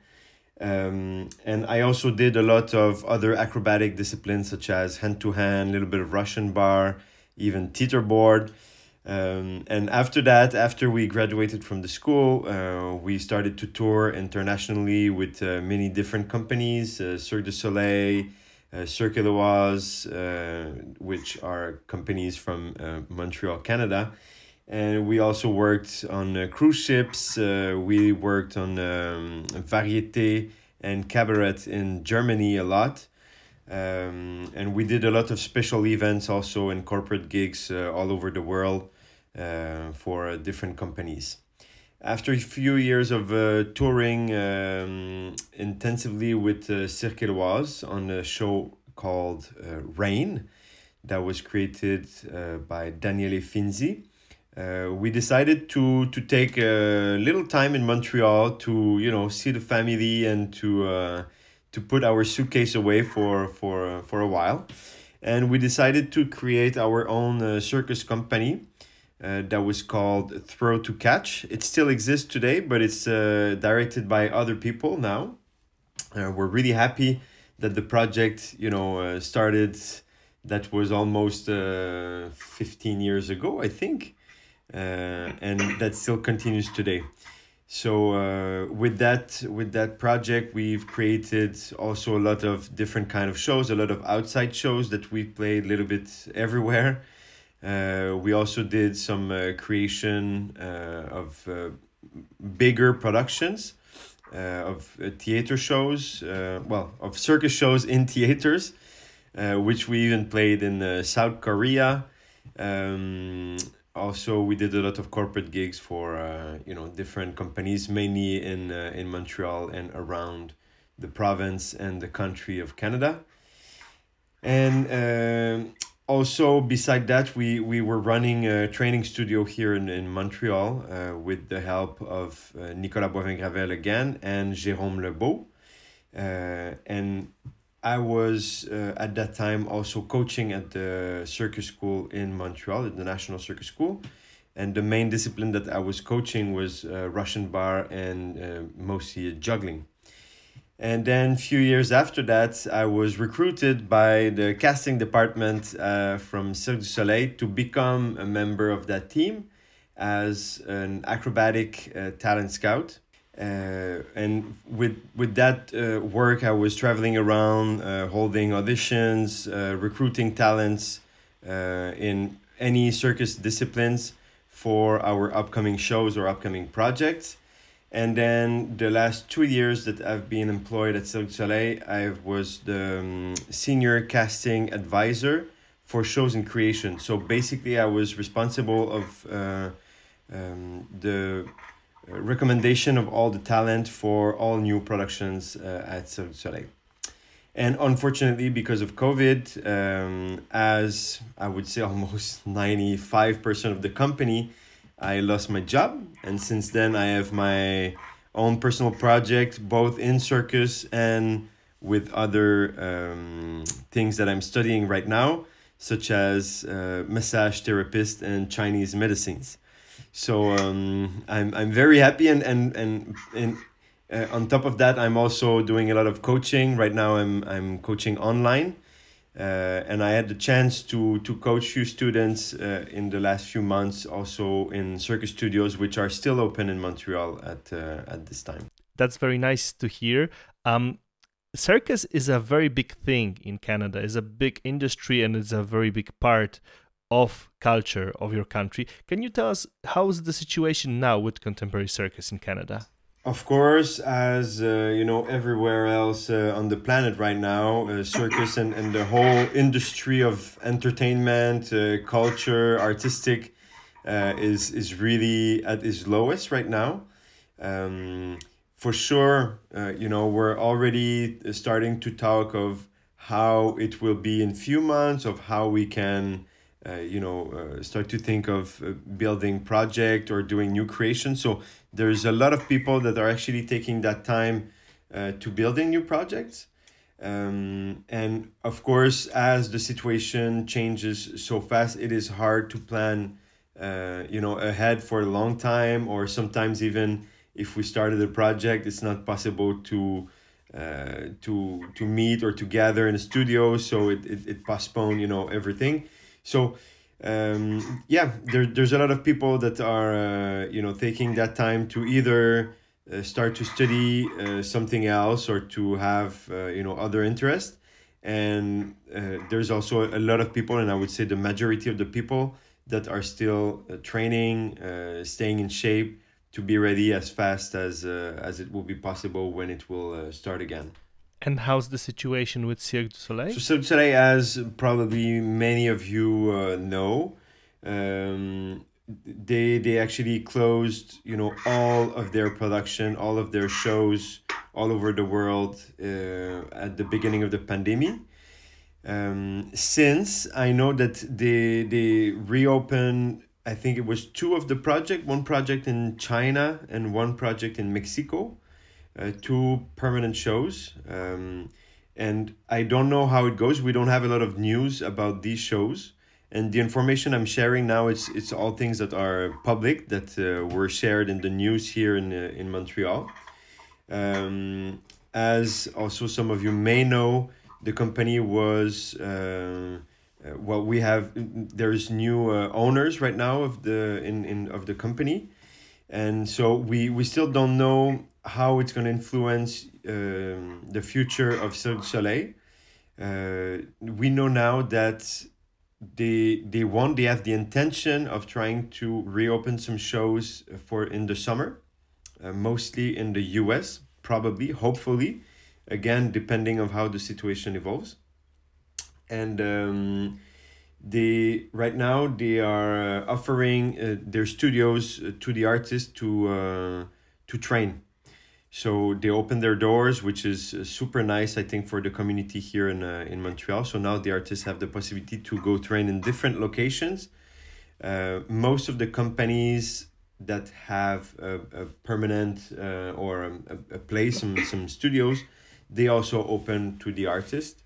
Um, and I also did a lot of other acrobatic disciplines, such as hand-to-hand, a little bit of Russian bar, even teeterboard. Um, and after that, after we graduated from the school, uh, we started to tour internationally with uh, many different companies, uh, Cirque du Soleil, uh, Cirque Éloise, uh, which are companies from uh, Montreal, Canada. And we also worked on uh, cruise ships. Uh, we worked on um, variété and cabaret in Germany a lot. Um, and we did a lot of special events also and corporate gigs uh, all over the world uh, for uh, different companies. After a few years of uh, touring um, intensively with uh, Cirque Éloise on a show called uh, Rain that was created uh, by Daniele Finzi, uh, we decided to to take a little time in Montreal to, you know, see the family and to uh, to put our suitcase away for for uh, for a while. And we decided to create our own uh, circus company uh, that was called Throw to Catch. It still exists today, but it's uh, directed by other people now. Uh, we're really happy that the project, you know, uh, started. That was almost uh, fifteen years ago, I think, uh, and that still continues today. So uh, with that with that project, we've created also a lot of different kind of shows, a lot of outside shows that we played a little bit everywhere. Uh, we also did some uh, creation uh, of uh, bigger productions, uh, of uh, theater shows, uh, well, of circus shows in theaters, uh, which we even played in uh, South Korea. Um, Also, we did a lot of corporate gigs for uh, you know different companies, mainly in uh, in Montreal and around the province and the country of Canada. And uh, also, beside that, we, we were running a training studio here in, in Montreal uh, with the help of uh, Nicolas Boivin-Gravel again and Jérôme Lebeau. Uh, and I was uh, at that time also coaching at the circus school in Montreal, at the National Circus School. And the main discipline that I was coaching was uh, Russian bar and uh, mostly juggling. And then a few years after that, I was recruited by the casting department uh, from Cirque du Soleil to become a member of that team as an acrobatic uh, talent scout. Uh, and with with that uh, work, I was traveling around, uh, holding auditions, uh, recruiting talents uh, in any circus disciplines for our upcoming shows or upcoming projects. And then the last two years that I've been employed at Cirque du Soleil, I was the um, senior casting advisor for shows and creation. So basically, I was responsible of uh, um, the recommendation of all the talent for all new productions uh, at Cirque du Soleil. And unfortunately, because of COVID, um, as I would say almost ninety-five percent of the company, I lost my job. And since then, I have my own personal project, both in circus and with other um, things that I'm studying right now, such as uh, massage therapist and Chinese medicines. So um, I'm I'm very happy, and and and, and uh, on top of that, I'm also doing a lot of coaching. Right now, I'm I'm coaching online, uh, and I had the chance to to coach few students uh, in the last few months, also in circus studios, which are still open in Montreal at uh, at this time. That's very nice to hear. Um, circus is a very big thing in Canada. It's a big industry, and it's a very big part of culture of your country. Can you tell us how's the situation now with contemporary circus in Canada? Of course, as uh, you know, everywhere else uh, on the planet right now, uh, circus and, and the whole industry of entertainment, uh, culture, artistic, uh, is is really at its lowest right now. Um, for sure, uh, you know, we're already starting to talk of how it will be in few months, of how we can Uh, you know, uh, start to think of uh, building project or doing new creation. So there's a lot of people that are actually taking that time uh, to building new projects. Um, and of course, as the situation changes so fast, it is hard to plan, uh, you know, ahead for a long time, or sometimes even if we started a project, it's not possible to uh, to to meet or to gather in a studio. So it, it, it postponed, you know, everything. So, um, yeah, there, there's a lot of people that are, uh, you know, taking that time to either uh, start to study uh, something else or to have, uh, you know, other interests. And uh, there's also a lot of people, and I would say the majority of the people that are still uh, training, uh, staying in shape to be ready as fast as uh, as it will be possible when it will uh, start again. And how's the situation with Cirque du Soleil? So Cirque du Soleil, as probably many of you uh, know, um, they they actually closed, you know, all of their production, all of their shows all over the world uh, at the beginning of the pandemic. Um, since I know that they they reopened, I think it was two of the project, one project in China and one project in Mexico. Uh, two permanent shows, um, and I don't know how it goes. We don't have a lot of news about these shows, and the information I'm sharing now, it's it's all things that are public, that uh, were shared in the news here in uh, in Montreal. Um, as also some of you may know, the company was uh, uh, well, we have there's new uh, owners right now of the in, in of the company, and so we we still don't know how it's going to influence um, the future of Cirque du Soleil. Uh, we know now that they they want they have the intention of trying to reopen some shows for in the summer, uh, mostly in the U S, probably, hopefully, again depending on how the situation evolves. And um, they right now they are offering uh, their studios to the artists to uh, to train. So they opened their doors, which is uh, super nice, I think, for the community here in uh, in Montreal. So now the artists have the possibility to go train in different locations. Uh, most of the companies that have a, a permanent uh, or a, a place, some, some studios, they also open to the artist.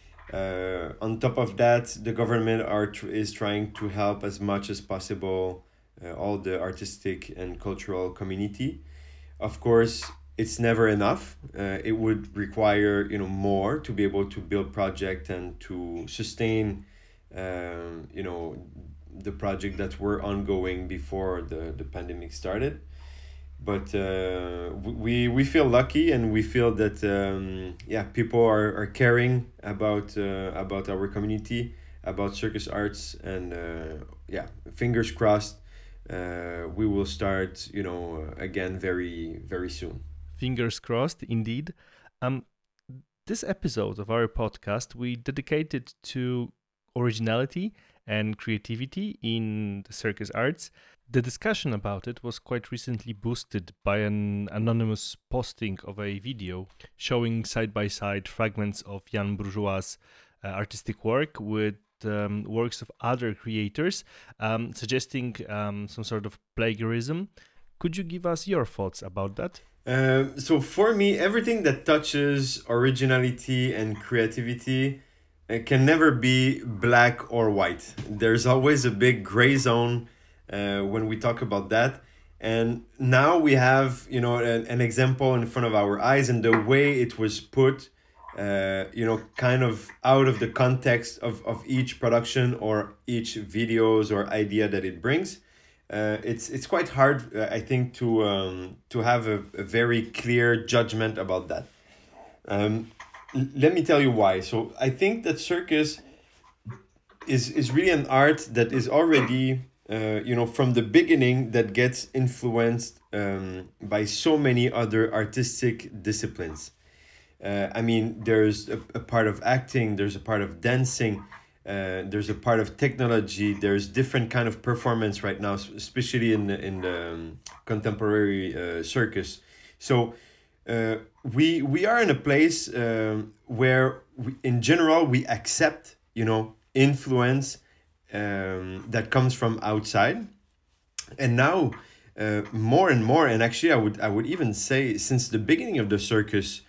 Uh, on top of that, the government are tr- is trying to help as much as possible uh, all the artistic and cultural community. Of course, it's never enough. Uh, it would require, you know, more to be able to build project and to sustain, um, you know, the project that were ongoing before the, the pandemic started. But uh, we we feel lucky, and we feel that um, yeah, people are, are caring about uh, about our community, about circus arts, and uh, yeah, fingers crossed, uh, we will start, you know, again very very soon. Fingers crossed, indeed. Um, this episode of our podcast we dedicated to originality and creativity in the circus arts. The discussion about it was quite recently boosted by an anonymous posting of a video showing side-by-side fragments of Jan Bourgeois' uh, artistic work with um, works of other creators, um, suggesting um, some sort of plagiarism. Could you give us your thoughts about that? Um, so for me, everything that touches originality and creativity uh, can never be black or white. There's always a big gray zone uh, when we talk about that. And now we have, you know, an, an example in front of our eyes, and the way it was put, uh, you know, kind of out of the context of, of each production or each videos or idea that it brings. Uh, it's it's quite hard, uh, I think, to um, to have a, a very clear judgment about that. Um, l- let me tell you why. So I think that circus is is really an art that is already, uh, you know, from the beginning, that gets influenced um, by so many other artistic disciplines. Uh, I mean, there's a, a part of acting, there's a part of dancing. Uh, there's a part of technology. There's different kind of performance right now, especially in the, in the um, contemporary uh, circus. So uh, we we are in a place um, where, we, in general, we accept, you know, influence um, that comes from outside, and now uh, more and more. And actually, I would I would even say since the beginning of the circus,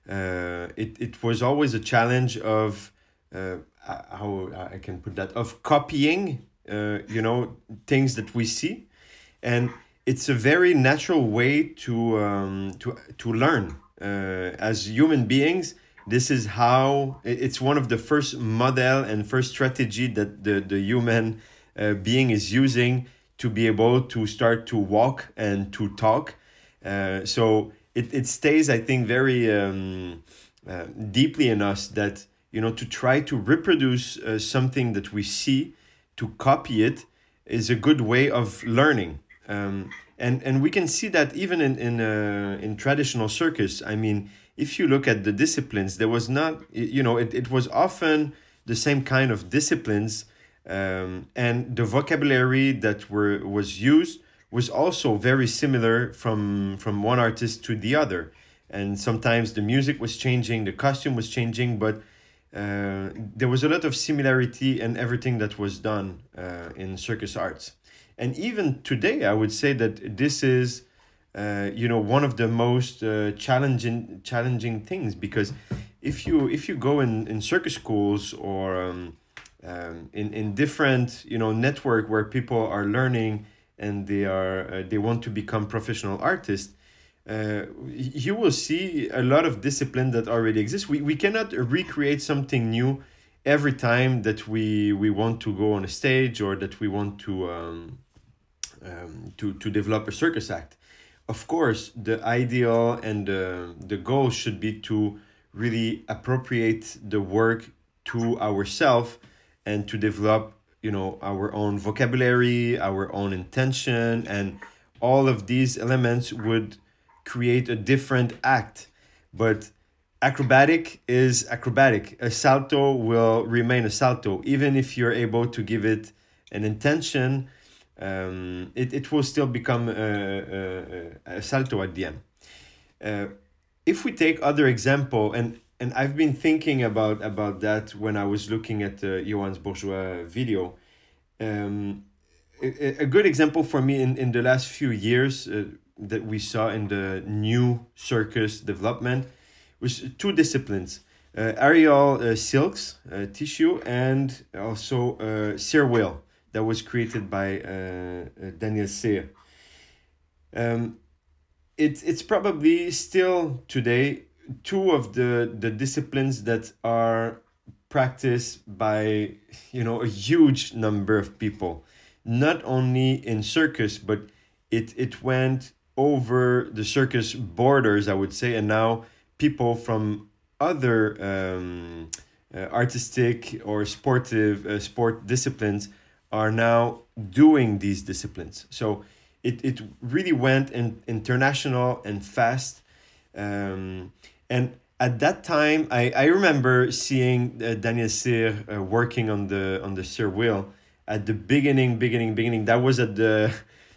uh, it it was always a challenge of. Uh, how I can put that, of copying, uh, you know, things that we see, and it's a very natural way to um, to to learn uh, as human beings. This is how it's one of the first model and first strategy that the the human uh, being is using to be able to start to walk and to talk. Uh, so it it stays, I think, very um, uh, deeply in us that. You know, to try to reproduce uh, something that we see, to copy it, is a good way of learning. Um, and and we can see that even in in uh, in traditional circus. I mean, if you look at the disciplines, there was not, you know, it, it was often the same kind of disciplines, um, and the vocabulary that were was used was also very similar from from one artist to the other. And sometimes the music was changing, the costume was changing, but Uh, there was a lot of similarity in everything that was done uh, in circus arts. And even today, I would say that this is, uh, you know, one of the most uh, challenging challenging things, because if you if you go in, in circus schools or um, um, in in different, you know, network where people are learning and they are uh, they want to become professional artists. Uh, you will see a lot of discipline that already exists. We we cannot recreate something new every time that we we want to go on a stage or that we want to um, um, to to develop a circus act. Of course, the ideal and the the goal should be to really appropriate the work to ourselves and to develop, you know, our own vocabulary, our own intention, and all of these elements would create a different act. But acrobatic is acrobatic. A salto will remain a salto. Even if you're able to give it an intention, um, it, it will still become a, a, a salto at the end. Uh, if we take other example, and and I've been thinking about about that when I was looking at the Johannes Bourgeois video. Um, a, a good example for me in, in the last few years uh, that we saw in the new circus development was two disciplines. Uh, aerial uh, silks, uh, tissue, and also uh, Cyr wheel that was created by uh, uh, Daniel Cyr. Um, it, it's probably still today two of the, the disciplines that are practiced by, you know, a huge number of people, not only in circus, but it, it went over the circus borders, I would say, and now people from other um, uh, artistic or sportive uh, sport disciplines are now doing these disciplines. So it, it really went in, international and fast. Um, and at that time, I, I remember seeing uh, Daniel Cyr uh, working on the on the Cyr wheel at the beginning, beginning, beginning. That was at the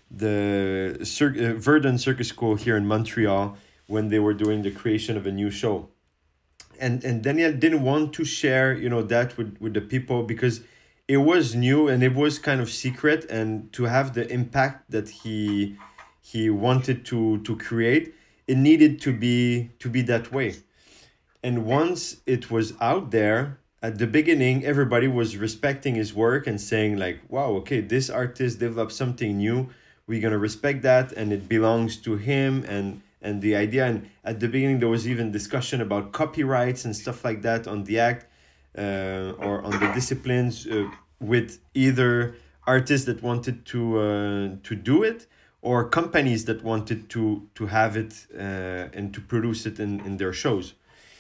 the Cir- uh, Verdun Circus School here in Montreal when they were doing the creation of a new show. And and Daniel didn't want to share, you know, that with, with the people because it was new and it was kind of secret, and to have the impact that he he wanted to to create, it needed to be to be that way. And once it was out there, at the beginning, everybody was respecting his work and saying like, wow, okay, this artist developed something new. We're going to respect that, and it belongs to him and and the idea. And at the beginning, there was even discussion about copyrights and stuff like that on the act uh, or on the disciplines uh, with either artists that wanted to uh, to do it or companies that wanted to to have it uh, and to produce it in, in their shows.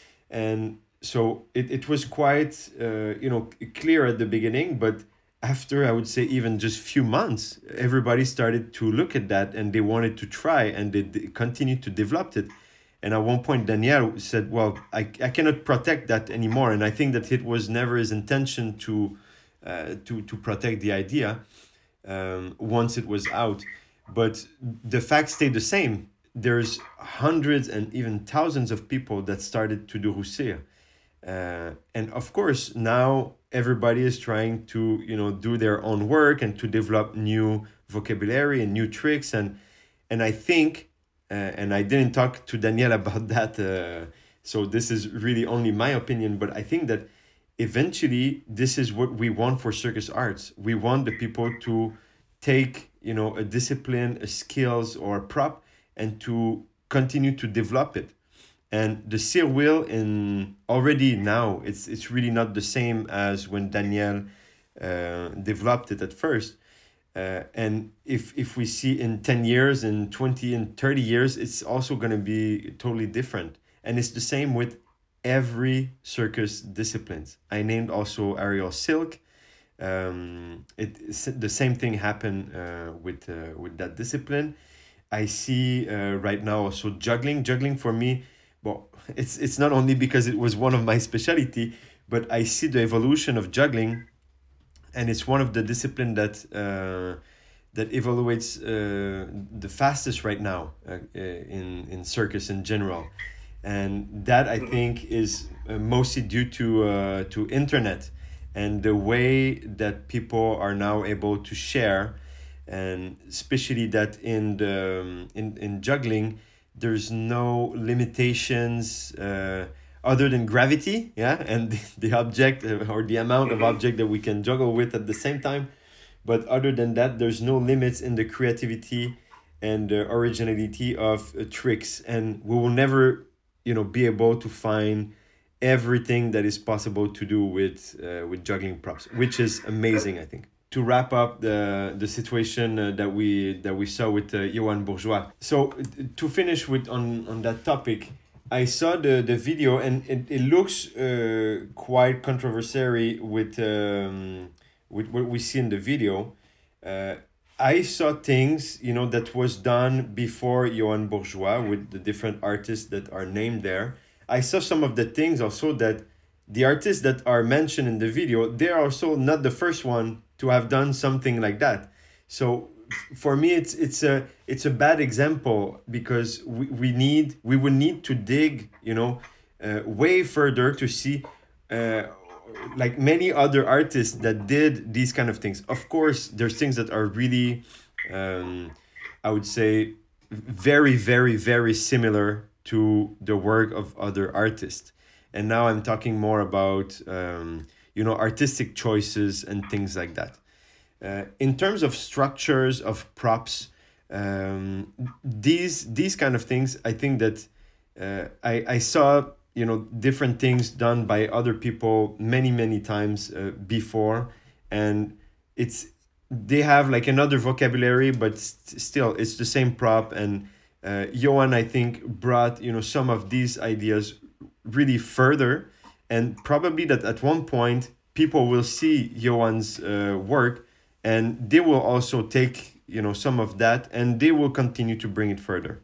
And so it, it was quite, uh, you know, clear at the beginning, but after, I would say, even just few months, everybody started to look at that and they wanted to try, and they, they continued to develop it. And at one point, Daniel said, well, I, I cannot protect that anymore. And I think that it was never his intention to uh, to, to protect the idea um, once it was out. But the facts stay the same. There's hundreds and even thousands of people that started to do Rousseau. Uh, and of course, now everybody is trying to, you know, do their own work and to develop new vocabulary and new tricks. And and I think, uh, and I didn't talk to Daniel about that, uh, so this is really only my opinion, but I think that eventually this is what we want for circus arts. We want the people to take, you know, a discipline, a skills or a prop, and to continue to develop it. And the Cyr wheel in already now, it's it's really not the same as when Daniel uh, developed it at first. Uh, and if if we see in ten years, in twenty and thirty years, it's also going to be totally different. And it's the same with every circus disciplines. I named also aerial silk. Um, it the same thing happened uh, with uh, with that discipline. I see uh, right now also juggling. Juggling for me, well, it's it's not only because it was one of my specialty, but I see the evolution of juggling, and it's one of the discipline that uh, that evaluates uh, the fastest right now uh, in in circus in general, and that I think is uh, mostly due to uh, to internet and the way that people are now able to share. And especially that in the um, in, in juggling, there's no limitations uh, other than gravity, yeah, and the, the object uh, or the amount of object that we can juggle with at the same time. But other than that, there's no limits in the creativity and the originality of uh, tricks, and we will never, you know, be able to find everything that is possible to do with uh, with juggling props, which is amazing, I think. To wrap up the the situation uh, that we that we saw with uh, Johannes Bourgeois. So uh, to finish with on, on that topic, I saw the, the video, and it, it looks uh, quite controversial with um, with what we see in the video. Uh, I saw things, you know, that was done before Johannes Bourgeois with the different artists that are named there. I saw some of the things also that the artists that are mentioned in the video, they're also not the first one to have done something like that. So for me, it's it's a it's a bad example because we, we need we would need to dig, you know, uh, way further to see, uh, like many other artists that did these kind of things. Of course, there's things that are really, um, I would say, very very very similar to the work of other artists. And now I'm talking more about, um, you know, artistic choices and things like that. Uh, in terms of structures of props, um, these these kind of things, I think that uh, I I saw, you know, different things done by other people many many times uh, before, and it's they have like another vocabulary, but st- still it's the same prop. And uh, Johan, I think, brought, you know, some of these ideas really further, and probably that at one point people will see Johan's uh, work, and they will also take, you know, some of that, and they will continue to bring it further.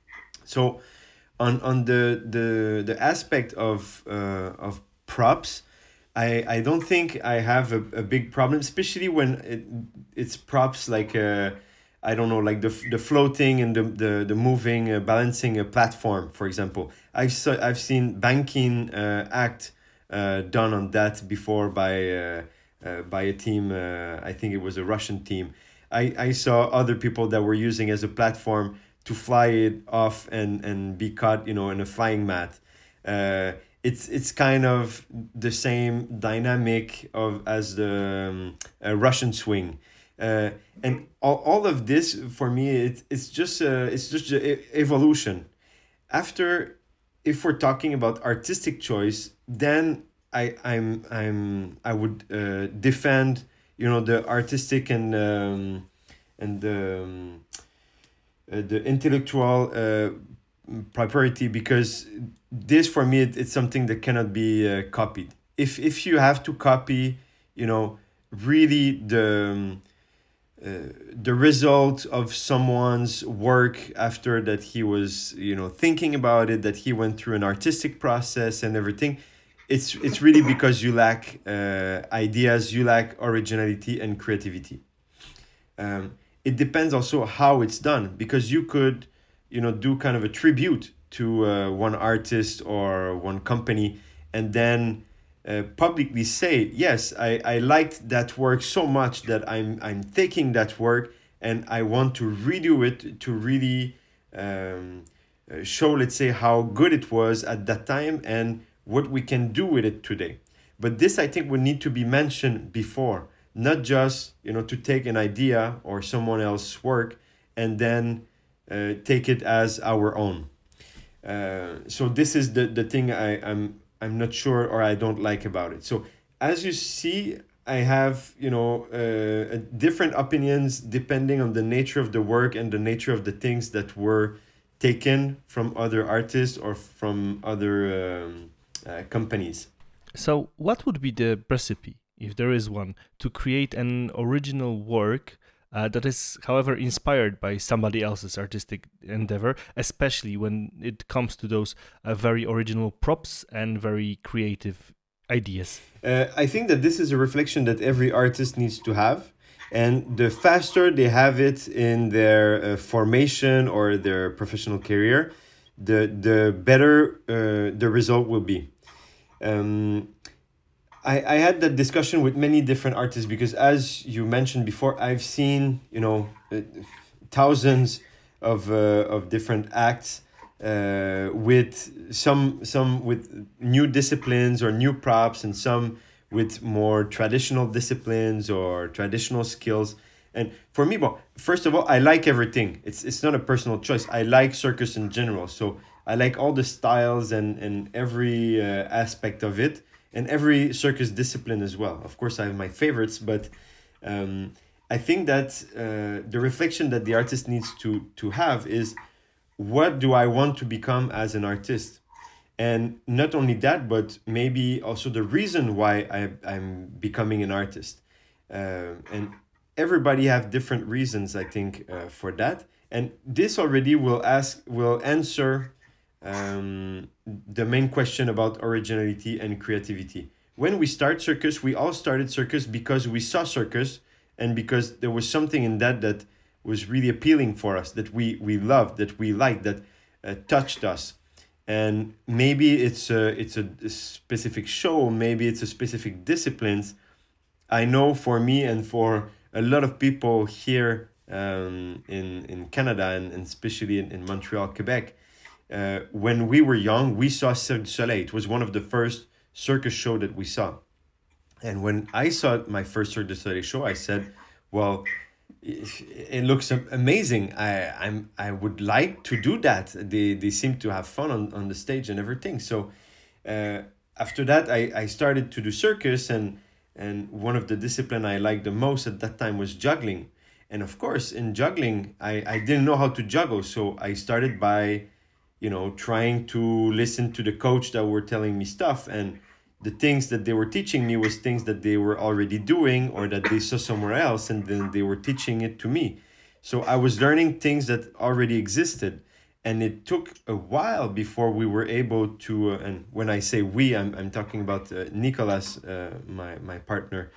So on on the the the aspect of uh, of props, I I don't think I have a, a big problem, especially when it, it's props like uh, I don't know, like the the floating and the the, the moving, uh, balancing a platform, for example. I've saw, I've seen banking uh, act uh, done on that before by uh, uh, by a team. Uh, I think it was a Russian team. I, I saw other people that were using as a platform to fly it off and, and be caught, you know, in a flying mat. Uh, it's it's kind of the same dynamic of as the um, uh, Russian swing. Uh, and all, all of this for me, it, it's just uh, it's just a evolution. After, if we're talking about artistic choice, then I I'm I'm I would uh, defend, you know, the artistic and um, and the um, uh, the intellectual uh, propriety, because this for me it, it's something that cannot be uh, copied. If if you have to copy, you know, really the um, uh, the result of someone's work after that he was, you know, thinking about it, that he went through an artistic process and everything, it's it's really because you lack uh, ideas, you lack originality and creativity. Um, it depends also how it's done, because you could, you know, do kind of a tribute to uh, one artist or one company, and then uh, publicly say, yes, I, I liked that work so much that I'm I'm taking that work and I want to redo it to really um, uh, show, let's say, how good it was at that time and what we can do with it today. But this, I think, would need to be mentioned before, not just, you know, to take an idea or someone else's work and then uh, take it as our own. Uh, so this is the, the thing I, I'm I'm not sure or I don't like about it. So as you see, I have, you know, uh, different opinions depending on the nature of the work and the nature of the things that were taken from other artists or from other um, uh, companies. So what would be the recipe, if there is one, to create an original work uh, that is, however, inspired by somebody else's artistic endeavor, especially when it comes to those uh, very original props and very creative ideas? Uh, I think that this is a reflection that every artist needs to have. And the faster they have it in their uh, formation or their professional career, the, the better uh, the result will be. Um, I, I had that discussion with many different artists because, as you mentioned before, I've seen, you know, uh, thousands of uh, of different acts uh, with some some with new disciplines or new props, and some with more traditional disciplines or traditional skills. And for me, well, first of all, I like everything. It's it's not a personal choice. I like circus in general, so I like all the styles and and every uh, aspect of it. And every circus discipline as well. Of course, I have my favorites, but um, I think that uh, the reflection that the artist needs to to have is, what do I want to become as an artist? And not only that, but maybe also the reason why I, I'm becoming an artist. Uh, and everybody have different reasons, I think, uh, for that. And this already will ask, will answer Um, the main question about originality and creativity. When we start circus, we all started circus because we saw circus and because there was something in that that was really appealing for us, that we we loved, that we liked, that uh, touched us. And maybe it's a it's a, a specific show, maybe it's a specific disciplines. I know for me and for a lot of people here um, in in Canada and, and especially in, in Montreal, Quebec, uh, when we were young, we saw Cirque du Soleil. It was one of the first circus show that we saw. And when I saw my first Cirque du Soleil show, I said, well, it looks amazing. I I'm I would like to do that. They they seem to have fun on, on the stage and everything. So uh, after that, I, I started to do circus, and and one of the discipline I liked the most at that time was juggling. And of course, in juggling, I, I didn't know how to juggle. So I started by, you know, trying to listen to the coach that were telling me stuff, and the things that they were teaching me was things that they were already doing or that they saw somewhere else, and then they were teaching it to me. So I was learning things that already existed, and it took a while before we were able to, uh, and when I say we, I'm I'm talking about uh, Nicolas, uh, my, my partner,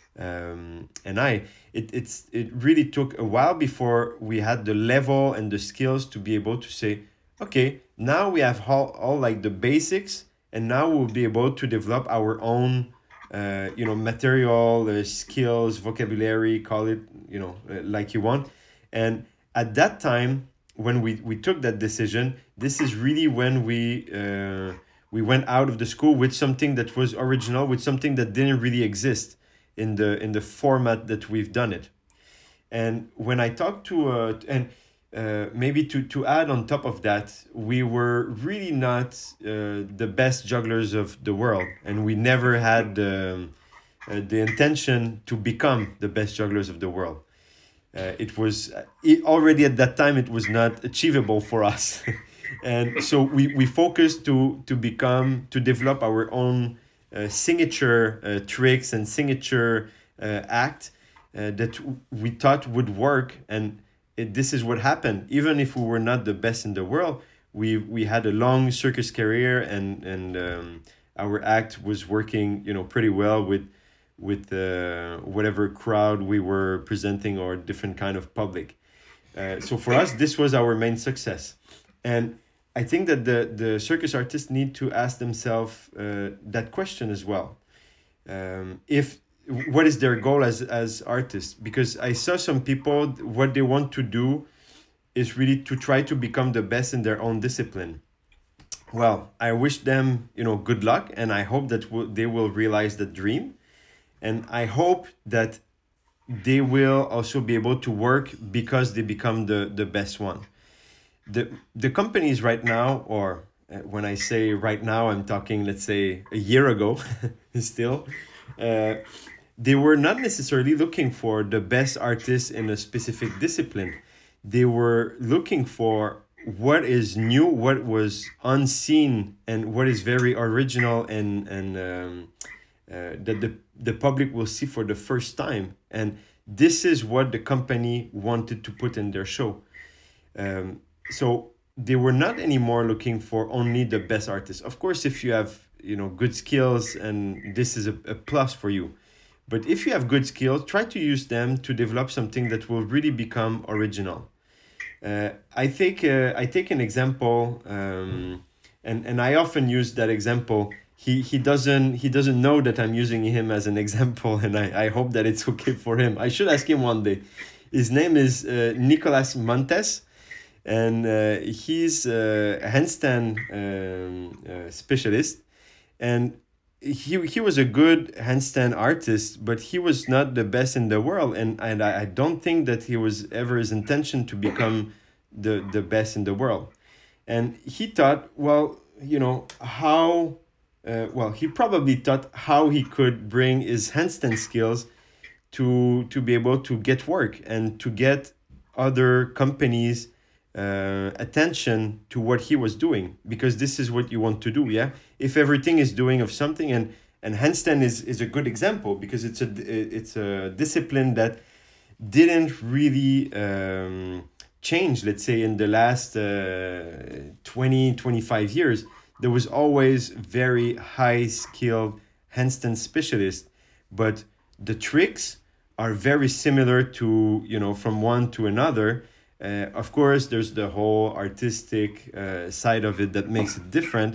um, and I, it, it's, it really took a while before we had the level and the skills to be able to say, okay, now we have all, all like the basics, and now we'll be able to develop our own, uh, you know, material, uh, skills, vocabulary, call it, you know, uh, like you want. And at that time, when we, we took that decision, this is really when we uh, we went out of the school with something that was original, with something that didn't really exist in the in the format that we've done it. And when I talked to uh, and. Uh, maybe to, to add on top of that, we were really not uh, the best jugglers of the world, and we never had um, uh, the intention to become the best jugglers of the world. Uh, it was it, already at that time, it was not achievable for us. And so we, we focused to, to become, to develop our own uh, signature uh, tricks and signature uh, act uh, that we thought would work. And It, this is what happened. Even if we were not the best in the world, we we had a long circus career, and and um, our act was working, you know, pretty well with with uh, whatever crowd we were presenting or different kind of public. Uh, so for us, this was our main success, and I think that the the circus artists need to ask themselves uh, that question as well. Um, if What is their goal as as artists? Because I saw some people, what they want to do is really to try to become the best in their own discipline. Well, I wish them, you know, good luck, and I hope that w- they will realize the dream, and I hope that they will also be able to work because they become the the best one. The the companies right now, or uh, when I say right now, I'm talking, let's say, a year ago, still. Uh, They were not necessarily looking for the best artists in a specific discipline. They were looking for what is new, what was unseen, and what is very original, and and um, uh, that the, the public will see for the first time. And this is what the company wanted to put in their show. Um, so they were not anymore looking for only the best artists. Of course, if you have, you know, good skills, and this is a, a plus for you. But if you have good skills, try to use them to develop something that will really become original. Uh, I take uh, I take an example, um, and and I often use that example. He he doesn't he doesn't know that I'm using him as an example, and I, I hope that it's okay for him. I should ask him one day. His name is uh, Nicolas Montes, and uh, he's a handstand um, uh, specialist, and he he was a good handstand artist, but he was not the best in the world, and and I, I don't think that he was ever his intention to become the the best in the world. And he thought, well, you know, how uh, well he probably thought how he could bring his handstand skills to to be able to get work and to get other companies uh, attention to what he was doing, because this is what you want to do. Yeah, if everything is doing of something, and and handstand is is a good example, because it's a it's a discipline that didn't really um, change, let's say, in the last uh, twenty, twenty-five years. There was always very high skilled handstand specialists, but the tricks are very similar to, you know, from one to another. Uh, of course, there's the whole artistic uh, side of it that makes it different,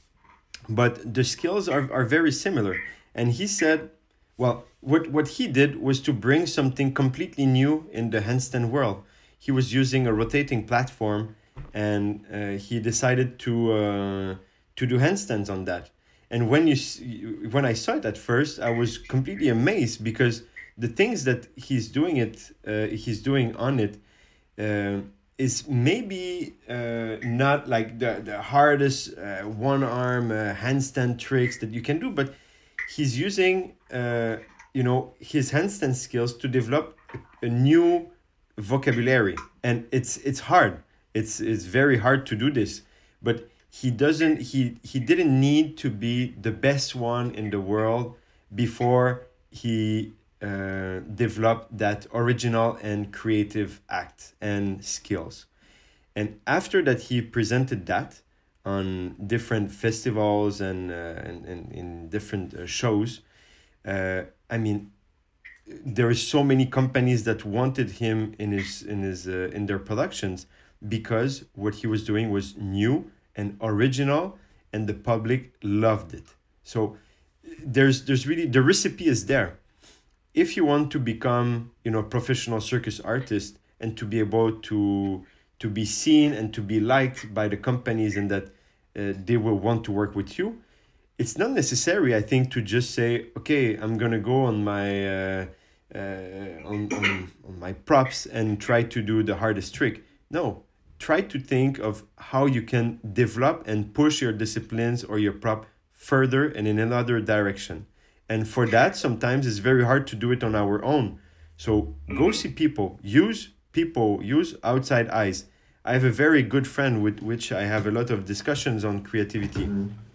but the skills are, are very similar. And he said, well, what, what he did was to bring something completely new in the handstand world. He was using a rotating platform, and uh, he decided to uh, to do handstands on that. And when you when I saw it at first, I was completely amazed, because the things that he's doing it uh, he's doing on it uh, is maybe uh, not like the the hardest uh, one arm uh, handstand tricks that you can do, but he's using uh, you know his handstand skills to develop a new vocabulary, and it's it's hard. It's it's very hard to do this, but he doesn't he he didn't need to be the best one in the world before he uh, developed that original and creative act and skills. And after that, he presented that on different festivals and uh, and, and in different uh, shows. Uh, I mean, there are so many companies that wanted him in his in his uh, in their productions, because what he was doing was new and original, and the public loved it. So there's there's really, the recipe is there. If you want to become, you know, a professional circus artist, and to be able to to be seen and to be liked by the companies, and that uh, they will want to work with you, it's not necessary, I think, to just say, okay, I'm gonna go on my uh, uh, on, on on my props and try to do the hardest trick. No, try to think of how you can develop and push your disciplines or your prop further and in another direction. And for that, sometimes it's very hard to do it on our own. So go see people, use people, use outside eyes. I have a very good friend with which I have a lot of discussions on creativity.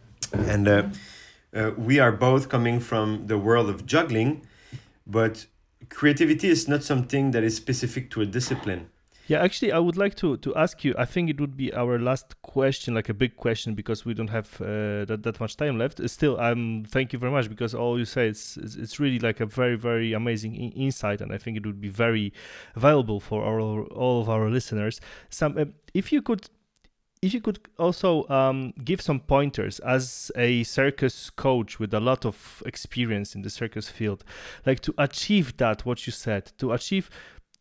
And uh, uh, we are both coming from the world of juggling, but creativity is not something that is specific to a discipline. Yeah, actually, I would like to to ask you, I think it would be our last question, like a big question, because we don't have uh, that, that much time left. Still, um, thank you very much, because all you say, it's, it's, it's really like a very, very amazing in- insight, and I think it would be very valuable for our, all of our listeners. Some, uh, if you could If you could also um, give some pointers as a circus coach with a lot of experience in the circus field, like to achieve that, what you said, to achieve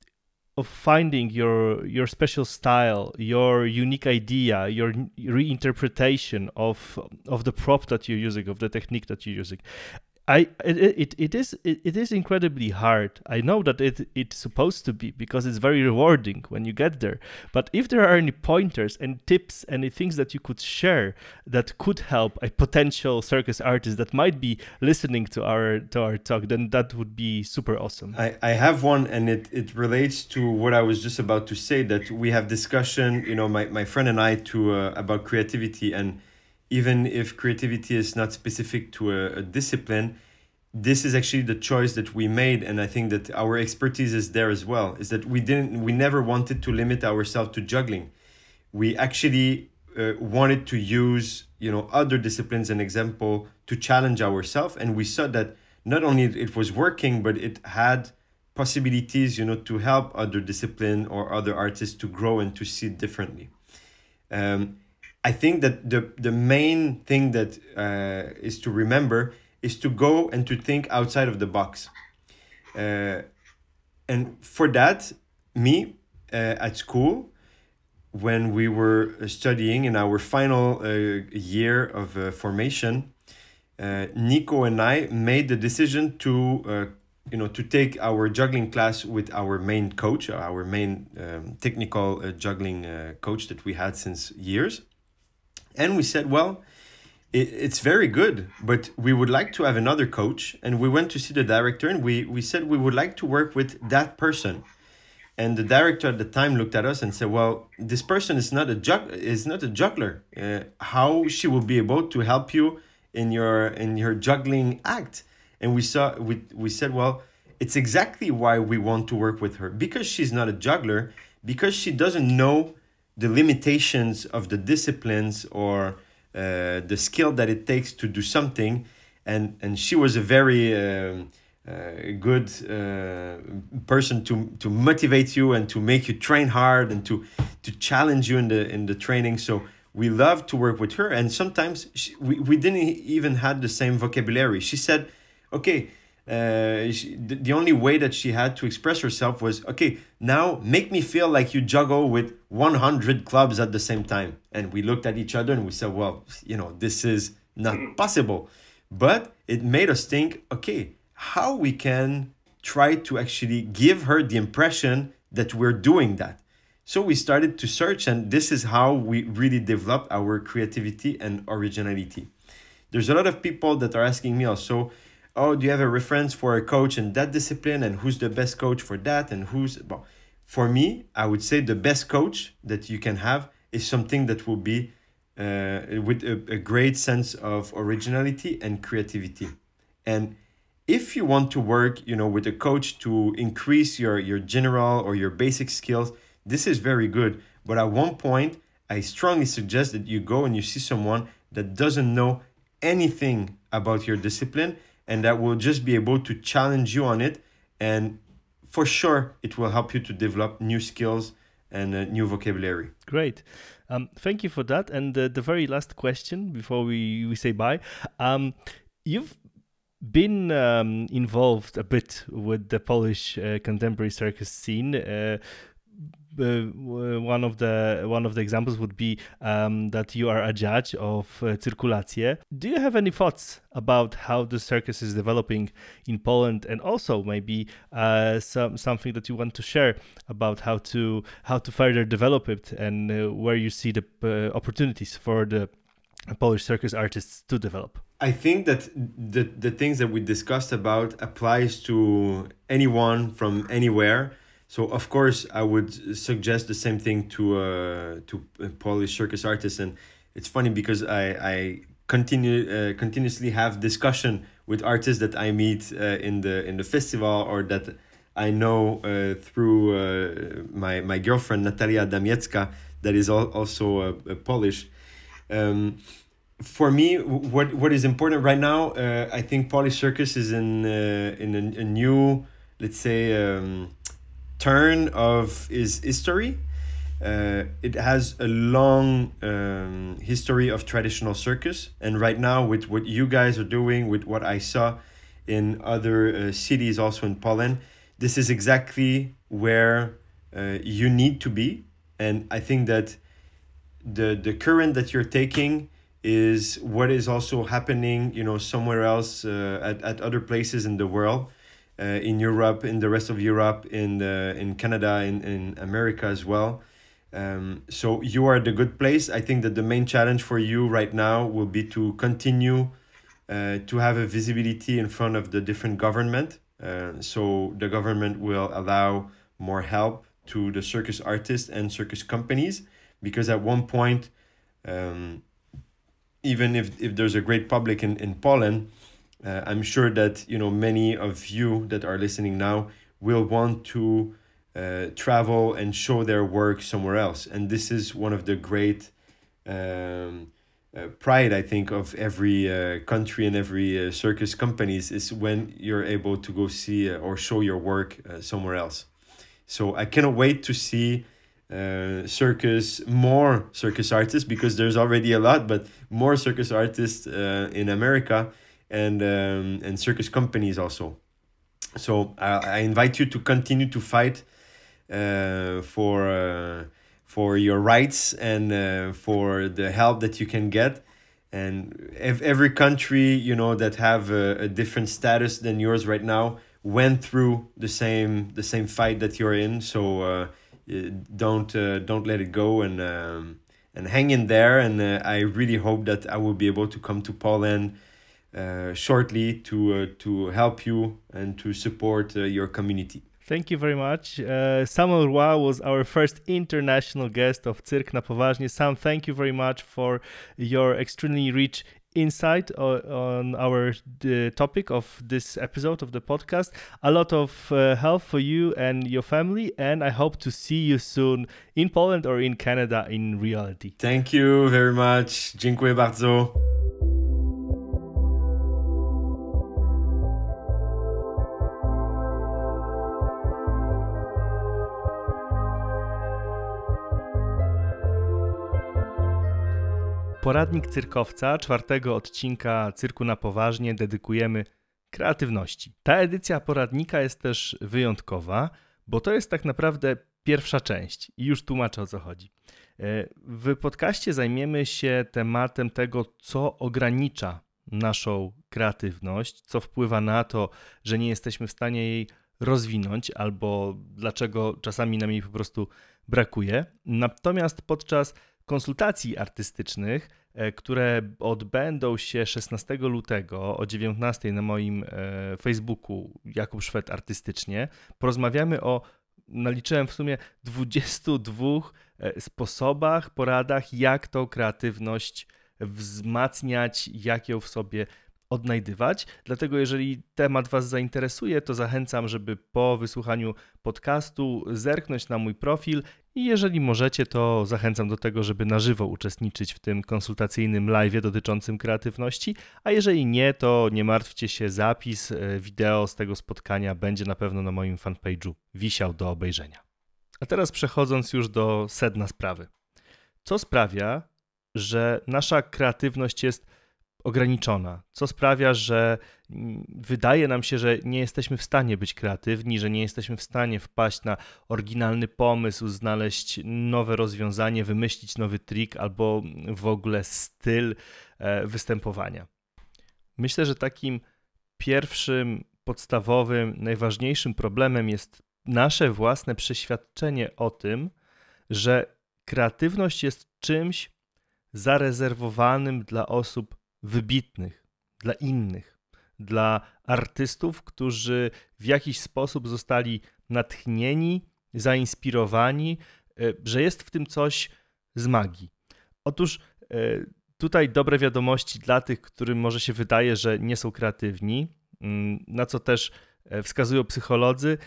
of finding your your special style, your unique idea, your reinterpretation of of the prop that you're using, of the technique that you're using. I it it, it is it, it is incredibly hard. I know that it it's supposed to be, because it's very rewarding when you get there. But if there are any pointers and tips, any things that you could share that could help a potential circus artist that might be listening to our to our talk, then that would be super awesome. I, I have one, and it, it relates to what I was just about to say, that we have discussion, you know, my, my friend and I, to uh, about creativity. And even if creativity is not specific to a, a discipline, this is actually the choice that we made, and I think that our expertise is there as well. Is that we didn't, we never wanted to limit ourselves to juggling. We actually uh, wanted to use, you know, other disciplines, an example, to challenge ourselves, and we saw that not only it was working, but it had possibilities, you know, to help other discipline or other artists to grow and to see it differently. Um, I think that the the main thing that uh, is to remember is to go and to think outside of the box. Uh, and for that, me, uh, at school, when we were studying in our final uh, year of uh, formation, uh, Nico and I made the decision to, uh, you know, to take our juggling class with our main coach, our main um, technical uh, juggling uh, coach that we had since years. And we said, well, it, it's very good, but we would like to have another coach. And we went to see the director, and we, we said we would like to work with that person. And the director at the time looked at us and said, well, this person is not a jug- is not a juggler. Uh, how she will be able to help you in your in your juggling act? And we saw we we said, well, it's exactly why we want to work with her, because she's not a juggler, because she doesn't know the limitations of the disciplines or uh, the skill that it takes to do something. And and she was a very um, a good uh, person to to motivate you and to make you train hard and to to challenge you in the in the training. So we love to work with her, and sometimes she, we, we didn't even have the same vocabulary. She said, okay, uh, she, the, the only way that she had to express herself was, okay, now make me feel like you juggle with one hundred clubs at the same time. And we looked at each other and we said, well, you know, this is not possible. But it made us think, okay, how we can try to actually give her the impression that we're doing that. So we started to search, and this is how we really developed our creativity and originality. There's a lot of people that are asking me also, oh, do you have a reference for a coach in that discipline, and who's the best coach for that, and who's... Well, for me, I would say the best coach that you can have is something that will be uh, with a, a great sense of originality and creativity. And if you want to work, you know, with a coach to increase your, your general or your basic skills, this is very good. But at one point, I strongly suggest that you go and you see someone that doesn't know anything about your discipline and that will just be able to challenge you on it. And for sure, it will help you to develop new skills and uh, new vocabulary. Great. Um, thank you for that. And uh, the very last question before we, we say bye. Um, you've been um, involved a bit with the Polish uh, contemporary circus scene. Uh, Uh, one of the one of the examples would be um, that you are a judge of uh, Cyrkulację. Do you have any thoughts about how the circus is developing in Poland, and also maybe uh, some something that you want to share about how to how to further develop it, and uh, where you see the uh, opportunities for the Polish circus artists to develop? I think that the the things that we discussed about applies to anyone from anywhere. So of course I would suggest the same thing to uh, to Polish circus artists, and it's funny because I I continue uh, continuously have discussion with artists that I meet uh, in the in the festival or that I know uh, through uh, my my girlfriend Natalia Damiecka, that is al- also uh, uh, Polish. Um, for me, what what is important right now, uh, I think Polish circus is in uh, in a, a new, let's say. Um, turn of its history. Uh, it has a long um, history of traditional circus, and right now with what you guys are doing, with what I saw in other uh, cities also in Poland, this is exactly where uh, you need to be. And I think that the the current that you're taking is what is also happening, you know, somewhere else uh, at, at other places in the world. Uh, in Europe, in the rest of Europe, in the, in Canada, in, in America as well. Um, so you are at the good place. I think that the main challenge for you right now will be to continue uh, to have a visibility in front of the different government. Uh, so the government will allow more help to the circus artists and circus companies, because at one point, um, even if, if there's a great public in, in Poland, Uh, I'm sure that, you know, many of you that are listening now will want to uh, travel and show their work somewhere else. And this is one of the great um, uh, pride, I think, of every uh, country and every uh, circus companies, is when you're able to go see uh, or show your work uh, somewhere else. So I cannot wait to see uh, circus, more circus artists, because there's already a lot, but more circus artists uh, in America, and um, and circus companies also. So I, I invite you to continue to fight uh, for uh, for your rights and uh, for the help that you can get. And if every country, you know, that have a, a different status than yours right now went through the same the same fight that you're in. So uh, don't uh, don't let it go, and um, and hang in there. And uh, I really hope that I will be able to come to Poland Uh, shortly to uh, to help you and to support uh, your community. Thank you very much. Uh, Samuel Roy was our first international guest of Cyrk na Poważnie. Sam, thank you very much for your extremely rich insight on, on our the topic of this episode of the podcast. A lot of uh, help for you and your family, and I hope to see you soon in Poland or in Canada in reality. Thank you very much. Dziękuję bardzo. Poradnik cyrkowca czwartego odcinka Cyrku na Poważnie dedykujemy kreatywności. Ta edycja poradnika jest też wyjątkowa, bo to jest tak naprawdę pierwsza część i już tłumaczę, o co chodzi. W podcaście zajmiemy się tematem tego, co ogranicza naszą kreatywność, co wpływa na to, że nie jesteśmy w stanie jej rozwinąć albo dlaczego czasami nam jej po prostu brakuje. Natomiast podczas konsultacji artystycznych, które odbędą się szesnastego lutego o dziewiętnastej na moim Facebooku Jakub Szwed Artystycznie, porozmawiamy o, naliczyłem w sumie dwudziestu dwóch sposobach, poradach, jak tą kreatywność wzmacniać, jak ją w sobie odnajdywać. Dlatego jeżeli temat Was zainteresuje, to zachęcam, żeby po wysłuchaniu podcastu zerknąć na mój profil i jeżeli możecie, to zachęcam do tego, żeby na żywo uczestniczyć w tym konsultacyjnym live'ie dotyczącym kreatywności, a jeżeli nie, to nie martwcie się, zapis wideo z tego spotkania będzie na pewno na moim fanpage'u wisiał do obejrzenia. A teraz przechodząc już do sedna sprawy. Co sprawia, że nasza kreatywność jest ograniczona? Co sprawia, że wydaje nam się, że nie jesteśmy w stanie być kreatywni, że nie jesteśmy w stanie wpaść na oryginalny pomysł, znaleźć nowe rozwiązanie, wymyślić nowy trik albo w ogóle styl występowania? Myślę, że takim pierwszym, podstawowym, najważniejszym problemem jest nasze własne przeświadczenie o tym, że kreatywność jest czymś zarezerwowanym dla osób wybitnych, dla innych, dla artystów, którzy w jakiś sposób zostali natchnieni, zainspirowani, że jest w tym coś z magii. Otóż tutaj dobre wiadomości dla tych, którym może się wydaje, że nie są kreatywni, na co też wskazują psycholodzy.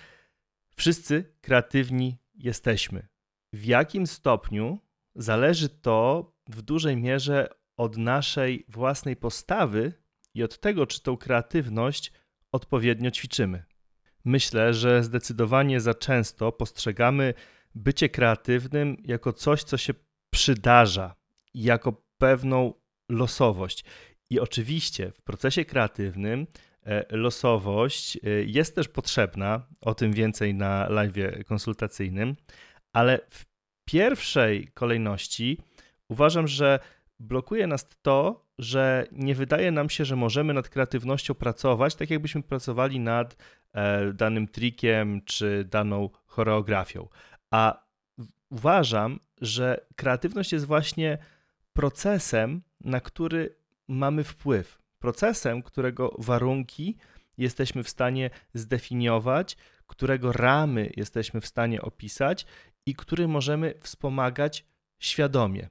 Wszyscy kreatywni jesteśmy. W jakim stopniu zależy to w dużej mierze od naszej własnej postawy i od tego, czy tą kreatywność odpowiednio ćwiczymy. Myślę, że zdecydowanie za często postrzegamy bycie kreatywnym jako coś, co się przydarza, jako pewną losowość. I oczywiście w procesie kreatywnym losowość jest też potrzebna, o tym więcej na live'ie konsultacyjnym, ale w pierwszej kolejności uważam, że blokuje nas to, że nie wydaje nam się, że możemy nad kreatywnością pracować, tak jakbyśmy pracowali nad e, danym trikiem czy daną choreografią. A uważam, że kreatywność jest właśnie procesem, na który mamy wpływ. Procesem, którego warunki jesteśmy w stanie zdefiniować, którego ramy jesteśmy w stanie opisać i który możemy wspomagać świadomie.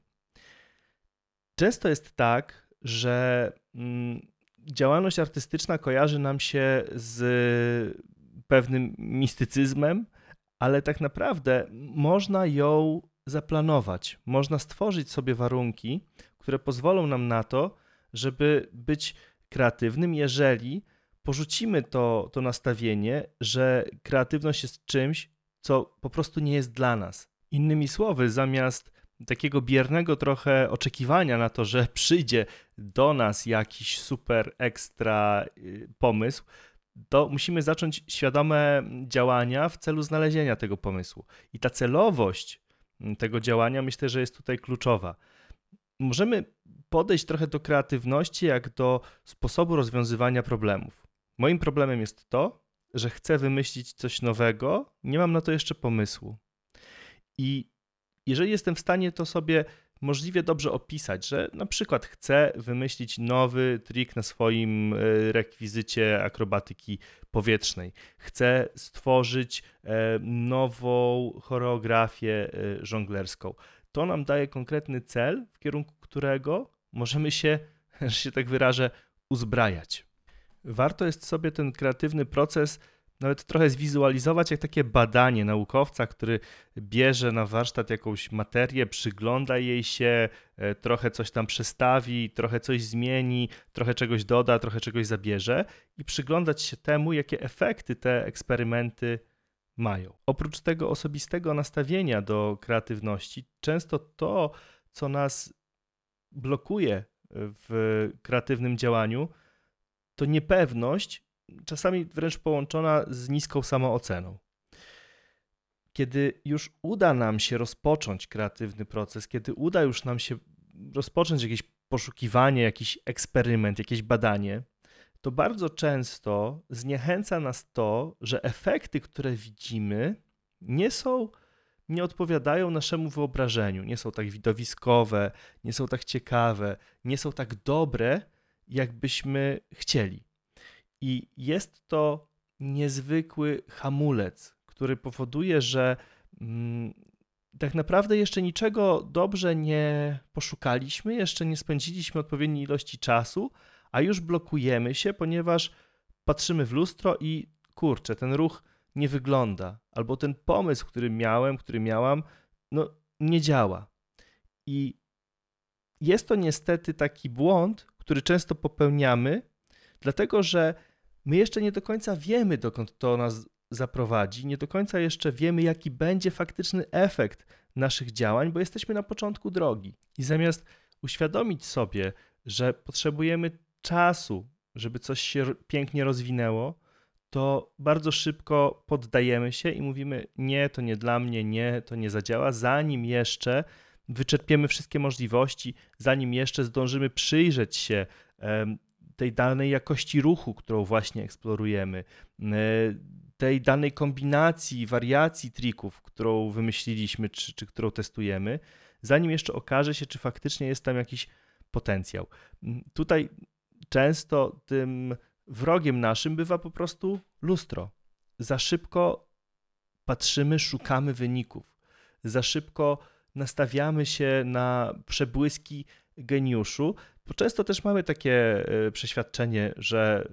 Często jest tak, że działalność artystyczna kojarzy nam się z pewnym mistycyzmem, ale tak naprawdę można ją zaplanować. Można stworzyć sobie warunki, które pozwolą nam na to, żeby być kreatywnym, jeżeli porzucimy to, to nastawienie, że kreatywność jest czymś, co po prostu nie jest dla nas. Innymi słowy, zamiast takiego biernego trochę oczekiwania na to, że przyjdzie do nas jakiś super ekstra pomysł, to musimy zacząć świadome działania w celu znalezienia tego pomysłu. I ta celowość tego działania myślę, że jest tutaj kluczowa. Możemy podejść trochę do kreatywności jak do sposobu rozwiązywania problemów. Moim problemem jest to, że chcę wymyślić coś nowego, nie mam na to jeszcze pomysłu. I jeżeli jestem w stanie to sobie możliwie dobrze opisać, że na przykład chcę wymyślić nowy trik na swoim rekwizycie akrobatyki powietrznej, chcę stworzyć nową choreografię żonglerską, to nam daje konkretny cel, w kierunku którego możemy się, że się tak wyrażę, uzbrajać. Warto jest sobie ten kreatywny proces nawet trochę zwizualizować jak takie badanie naukowca, który bierze na warsztat jakąś materię, przygląda jej się, trochę coś tam przestawi, trochę coś zmieni, trochę czegoś doda, trochę czegoś zabierze i przyglądać się temu, jakie efekty te eksperymenty mają. Oprócz tego osobistego nastawienia do kreatywności, często to, co nas blokuje w kreatywnym działaniu, to niepewność, czasami wręcz połączona z niską samooceną. Kiedy już uda nam się rozpocząć kreatywny proces, kiedy uda już nam się rozpocząć jakieś poszukiwanie, jakiś eksperyment, jakieś badanie, to bardzo często zniechęca nas to, że efekty, które widzimy, nie są, nie odpowiadają naszemu wyobrażeniu, nie są tak widowiskowe, nie są tak ciekawe, nie są tak dobre, jakbyśmy chcieli. I jest to niezwykły hamulec, który powoduje, że mm, tak naprawdę jeszcze niczego dobrze nie poszukaliśmy, jeszcze nie spędziliśmy odpowiedniej ilości czasu, a już blokujemy się, ponieważ patrzymy w lustro i kurczę, ten ruch nie wygląda, albo ten pomysł, który miałem, który miałam, no nie działa. I jest to niestety taki błąd, który często popełniamy, dlatego że my jeszcze nie do końca wiemy, dokąd to nas zaprowadzi, nie do końca jeszcze wiemy, jaki będzie faktyczny efekt naszych działań, bo jesteśmy na początku drogi. I zamiast uświadomić sobie, że potrzebujemy czasu, żeby coś się pięknie rozwinęło, to bardzo szybko poddajemy się i mówimy: nie, to nie dla mnie, nie, to nie zadziała, zanim jeszcze wyczerpiemy wszystkie możliwości, zanim jeszcze zdążymy przyjrzeć się tej danej jakości ruchu, którą właśnie eksplorujemy, tej danej kombinacji, wariacji trików, którą wymyśliliśmy, czy, czy którą testujemy, zanim jeszcze okaże się, czy faktycznie jest tam jakiś potencjał. Tutaj często tym wrogiem naszym bywa po prostu lustro. Za szybko patrzymy, szukamy wyników. Za szybko nastawiamy się na przebłyski geniuszu, bo często też mamy takie przeświadczenie, że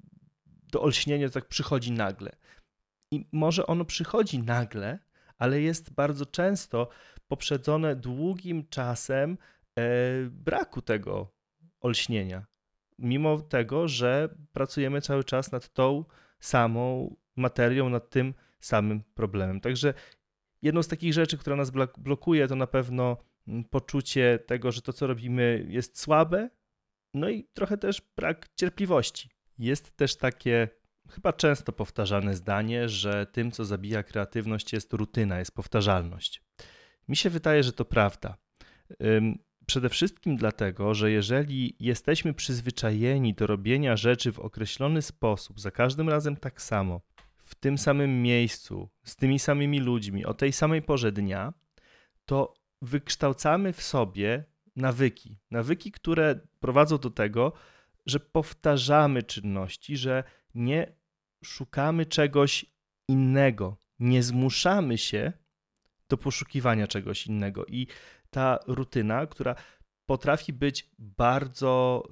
to olśnienie to tak przychodzi nagle. I może ono przychodzi nagle, ale jest bardzo często poprzedzone długim czasem braku tego olśnienia. Mimo tego, że pracujemy cały czas nad tą samą materią, nad tym samym problemem. Także jedną z takich rzeczy, która nas blokuje, to na pewno poczucie tego, że to, co robimy, jest słabe, no i trochę też brak cierpliwości. Jest też takie chyba często powtarzane zdanie, że tym, co zabija kreatywność, jest rutyna, jest powtarzalność. Mi się wydaje, że to prawda. Przede wszystkim dlatego, że jeżeli jesteśmy przyzwyczajeni do robienia rzeczy w określony sposób, za każdym razem tak samo, w tym samym miejscu, z tymi samymi ludźmi, o tej samej porze dnia, to wykształcamy w sobie nawyki. Nawyki, które prowadzą do tego, że powtarzamy czynności, że nie szukamy czegoś innego, nie zmuszamy się do poszukiwania czegoś innego. I ta rutyna, która potrafi być bardzo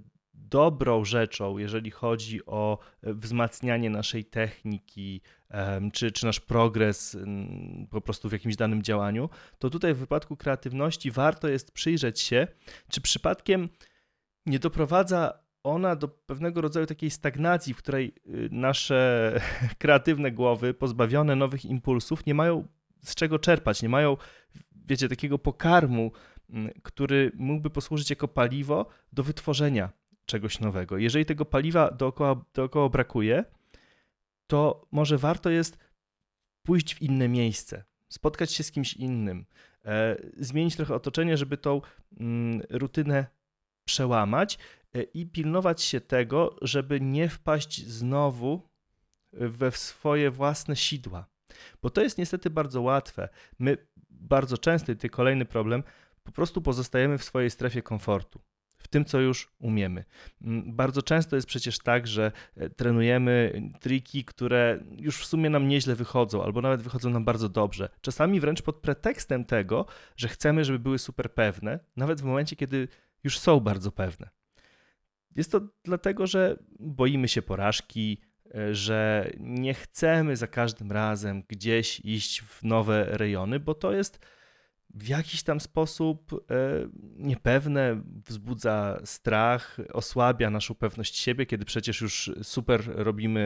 dobrą rzeczą, jeżeli chodzi o wzmacnianie naszej techniki, czy, czy nasz progres po prostu w jakimś danym działaniu, to tutaj w wypadku kreatywności warto jest przyjrzeć się, czy przypadkiem nie doprowadza ona do pewnego rodzaju takiej stagnacji, w której nasze kreatywne głowy, pozbawione nowych impulsów, nie mają z czego czerpać, nie mają, wiecie, takiego pokarmu, który mógłby posłużyć jako paliwo do wytworzenia czegoś nowego. Jeżeli tego paliwa dookoła, dookoła brakuje, to może warto jest pójść w inne miejsce, spotkać się z kimś innym, e, zmienić trochę otoczenie, żeby tą mm, rutynę przełamać e, i pilnować się tego, żeby nie wpaść znowu we swoje własne sidła. Bo to jest niestety bardzo łatwe. My bardzo często, i to kolejny problem, po prostu pozostajemy w swojej strefie komfortu, w tym, co już umiemy. Bardzo często jest przecież tak, że trenujemy triki, które już w sumie nam nieźle wychodzą, albo nawet wychodzą nam bardzo dobrze. Czasami wręcz pod pretekstem tego, że chcemy, żeby były super pewne, nawet w momencie, kiedy już są bardzo pewne. Jest to dlatego, że boimy się porażki, że nie chcemy za każdym razem gdzieś iść w nowe rejony, bo to jest w jakiś tam sposób niepewne, wzbudza strach, osłabia naszą pewność siebie, kiedy przecież już super robimy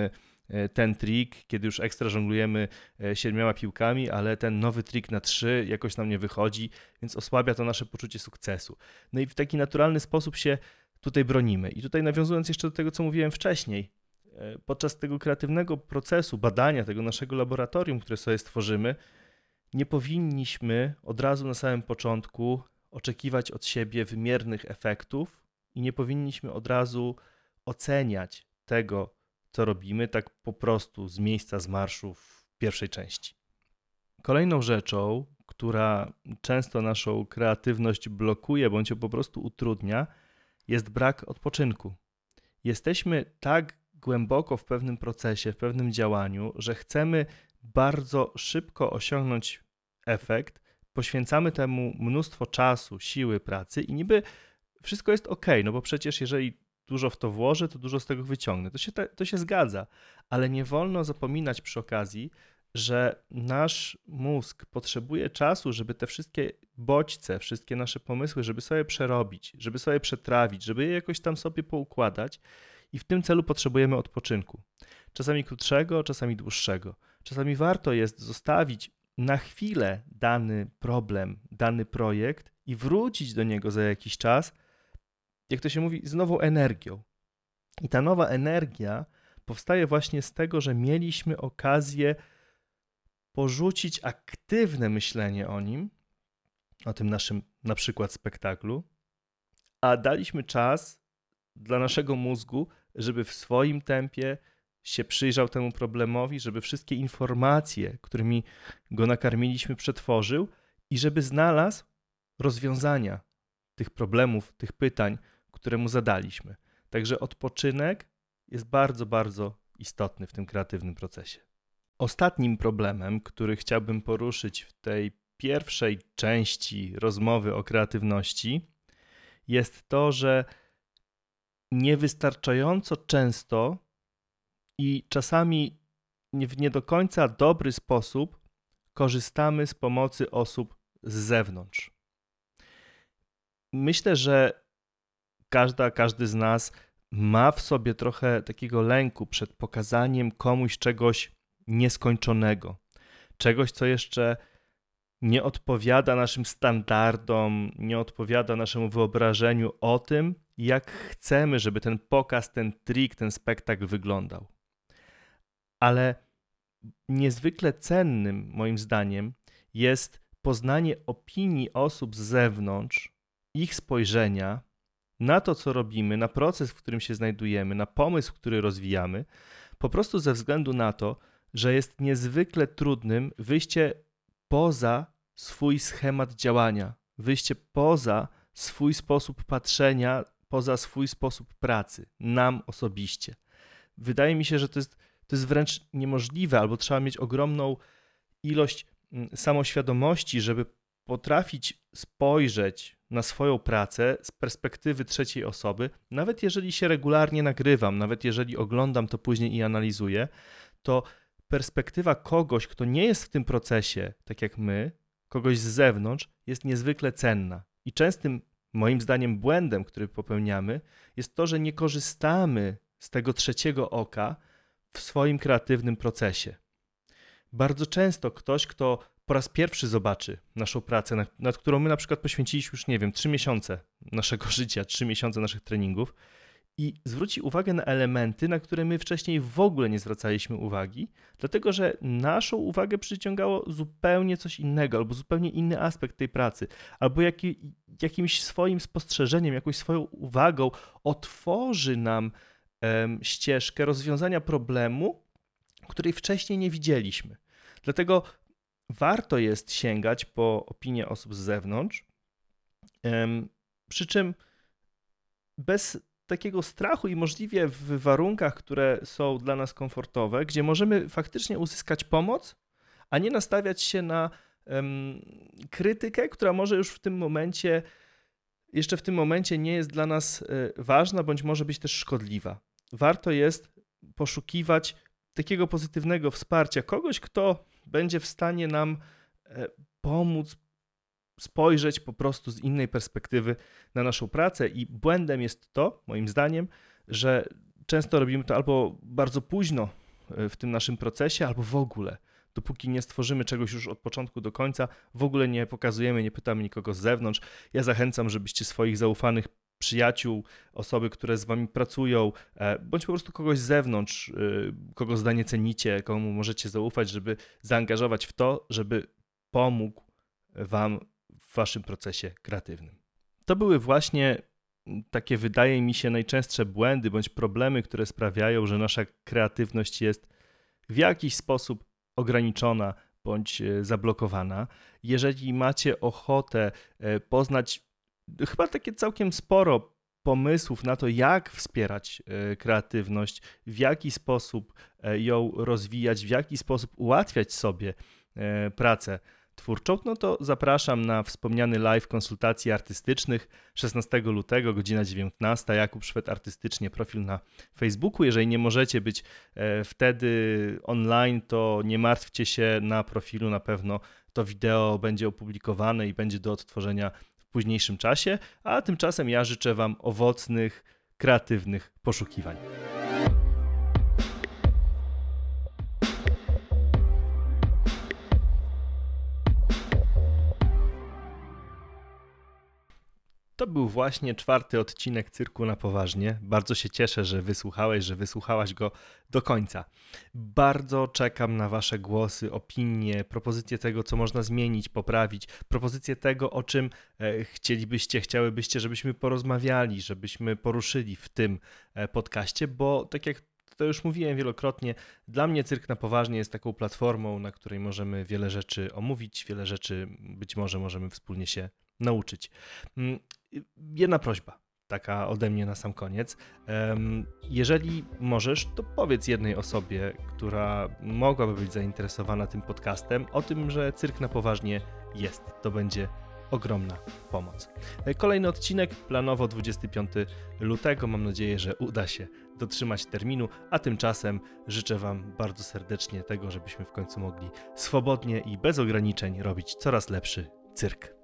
ten trik, kiedy już ekstra żonglujemy siedmioma piłkami, ale ten nowy trik na trzy jakoś nam nie wychodzi, więc osłabia to nasze poczucie sukcesu. No i w taki naturalny sposób się tutaj bronimy. I tutaj nawiązując jeszcze do tego, co mówiłem wcześniej, podczas tego kreatywnego procesu badania tego naszego laboratorium, które sobie stworzymy, nie powinniśmy od razu na samym początku oczekiwać od siebie wymiernych efektów i nie powinniśmy od razu oceniać tego, co robimy, tak po prostu z miejsca, z marszu w pierwszej części. Kolejną rzeczą, która często naszą kreatywność blokuje bądź ją po prostu utrudnia, jest brak odpoczynku. Jesteśmy tak głęboko w pewnym procesie, w pewnym działaniu, że chcemy bardzo szybko osiągnąć efekt, poświęcamy temu mnóstwo czasu, siły, pracy i niby wszystko jest ok, no bo przecież jeżeli dużo w to włożę, to dużo z tego wyciągnę. To się, to się zgadza, ale nie wolno zapominać przy okazji, że nasz mózg potrzebuje czasu, żeby te wszystkie bodźce, wszystkie nasze pomysły, żeby sobie przerobić, żeby sobie przetrawić, żeby je jakoś tam sobie poukładać i w tym celu potrzebujemy odpoczynku. Czasami krótszego, czasami dłuższego. Czasami warto jest zostawić na chwilę dany problem, dany projekt i wrócić do niego za jakiś czas, jak to się mówi, z nową energią. I ta nowa energia powstaje właśnie z tego, że mieliśmy okazję porzucić aktywne myślenie o nim, o tym naszym na przykład spektaklu, a daliśmy czas dla naszego mózgu, żeby w swoim tempie się przyjrzał temu problemowi, żeby wszystkie informacje, którymi go nakarmiliśmy, przetworzył i żeby znalazł rozwiązania tych problemów, tych pytań, które mu zadaliśmy. Także odpoczynek jest bardzo, bardzo istotny w tym kreatywnym procesie. Ostatnim problemem, który chciałbym poruszyć w tej pierwszej części rozmowy o kreatywności, jest to, że niewystarczająco często i czasami w nie do końca dobry sposób korzystamy z pomocy osób z zewnątrz. Myślę, że każda, każdy z nas ma w sobie trochę takiego lęku przed pokazaniem komuś czegoś nieskończonego, czegoś, co jeszcze nie odpowiada naszym standardom, nie odpowiada naszemu wyobrażeniu o tym, jak chcemy, żeby ten pokaz, ten trik, ten spektakl wyglądał. Ale niezwykle cennym, moim zdaniem, jest poznanie opinii osób z zewnątrz, ich spojrzenia na to, co robimy, na proces, w którym się znajdujemy, na pomysł, który rozwijamy, po prostu ze względu na to, że jest niezwykle trudnym wyjście poza swój schemat działania, wyjście poza swój sposób patrzenia, poza swój sposób pracy, nam osobiście. Wydaje mi się, że to jest, to jest wręcz niemożliwe, albo trzeba mieć ogromną ilość samoświadomości, żeby potrafić spojrzeć na swoją pracę z perspektywy trzeciej osoby, nawet jeżeli się regularnie nagrywam, nawet jeżeli oglądam to później i analizuję, to perspektywa kogoś, kto nie jest w tym procesie, tak jak my, kogoś z zewnątrz, jest niezwykle cenna. I częstym, moim zdaniem, błędem, który popełniamy, jest to, że nie korzystamy z tego trzeciego oka w swoim kreatywnym procesie. Bardzo często ktoś, kto po raz pierwszy zobaczy naszą pracę, nad, nad którą my na przykład poświęciliśmy już, nie wiem, trzy miesiące naszego życia, trzy miesiące naszych treningów i zwróci uwagę na elementy, na które my wcześniej w ogóle nie zwracaliśmy uwagi, dlatego że naszą uwagę przyciągało zupełnie coś innego, albo zupełnie inny aspekt tej pracy, albo jaki, jakimś swoim spostrzeżeniem, jakąś swoją uwagą otworzy nam em, ścieżkę rozwiązania problemu, której wcześniej nie widzieliśmy. Dlatego warto jest sięgać po opinie osób z zewnątrz, em, przy czym bez takiego strachu i możliwie w warunkach, które są dla nas komfortowe, gdzie możemy faktycznie uzyskać pomoc, a nie nastawiać się na um, krytykę, która może już w tym momencie, jeszcze w tym momencie nie jest dla nas y, ważna, bądź może być też szkodliwa. Warto jest poszukiwać takiego pozytywnego wsparcia, kogoś, kto będzie w stanie nam y, pomóc spojrzeć po prostu z innej perspektywy na naszą pracę i błędem jest to, moim zdaniem, że często robimy to albo bardzo późno w tym naszym procesie, albo w ogóle. Dopóki nie stworzymy czegoś już od początku do końca, w ogóle nie pokazujemy, nie pytamy nikogo z zewnątrz. Ja zachęcam, żebyście swoich zaufanych przyjaciół, osoby, które z wami pracują, bądź po prostu kogoś z zewnątrz, kogo zdanie cenicie, komu możecie zaufać, żeby zaangażować w to, żeby pomógł wam w waszym procesie kreatywnym. To były właśnie takie, wydaje mi się, najczęstsze błędy bądź problemy, które sprawiają, że nasza kreatywność jest w jakiś sposób ograniczona bądź zablokowana. Jeżeli macie ochotę poznać chyba takie całkiem sporo pomysłów na to, jak wspierać kreatywność, w jaki sposób ją rozwijać, w jaki sposób ułatwiać sobie pracę twórczą, no to zapraszam na wspomniany live konsultacji artystycznych szesnastego lutego, godzina dziewiętnasta. Jakub Szwed Artystycznie, profil na Facebooku. Jeżeli nie możecie być wtedy online, to nie martwcie się, na profilu na pewno to wideo będzie opublikowane i będzie do odtworzenia w późniejszym czasie, a tymczasem ja życzę wam owocnych, kreatywnych poszukiwań. To był właśnie czwarty odcinek Cyrku na Poważnie. Bardzo się cieszę, że wysłuchałeś, że wysłuchałaś go do końca. Bardzo czekam na wasze głosy, opinie, propozycje tego, co można zmienić, poprawić, propozycje tego, o czym chcielibyście, chciałybyście, żebyśmy porozmawiali, żebyśmy poruszyli w tym podcaście, bo tak jak to już mówiłem wielokrotnie, dla mnie Cyrk na Poważnie jest taką platformą, na której możemy wiele rzeczy omówić, wiele rzeczy być może możemy wspólnie się nauczyć. Jedna prośba, taka ode mnie na sam koniec. Jeżeli możesz, to powiedz jednej osobie, która mogłaby być zainteresowana tym podcastem, o tym, że Cyrk na Poważnie jest. To będzie ogromna pomoc. Kolejny odcinek planowo dwudziestego piątego lutego. Mam nadzieję, że uda się dotrzymać terminu, a tymczasem życzę wam bardzo serdecznie tego, żebyśmy w końcu mogli swobodnie i bez ograniczeń robić coraz lepszy cyrk.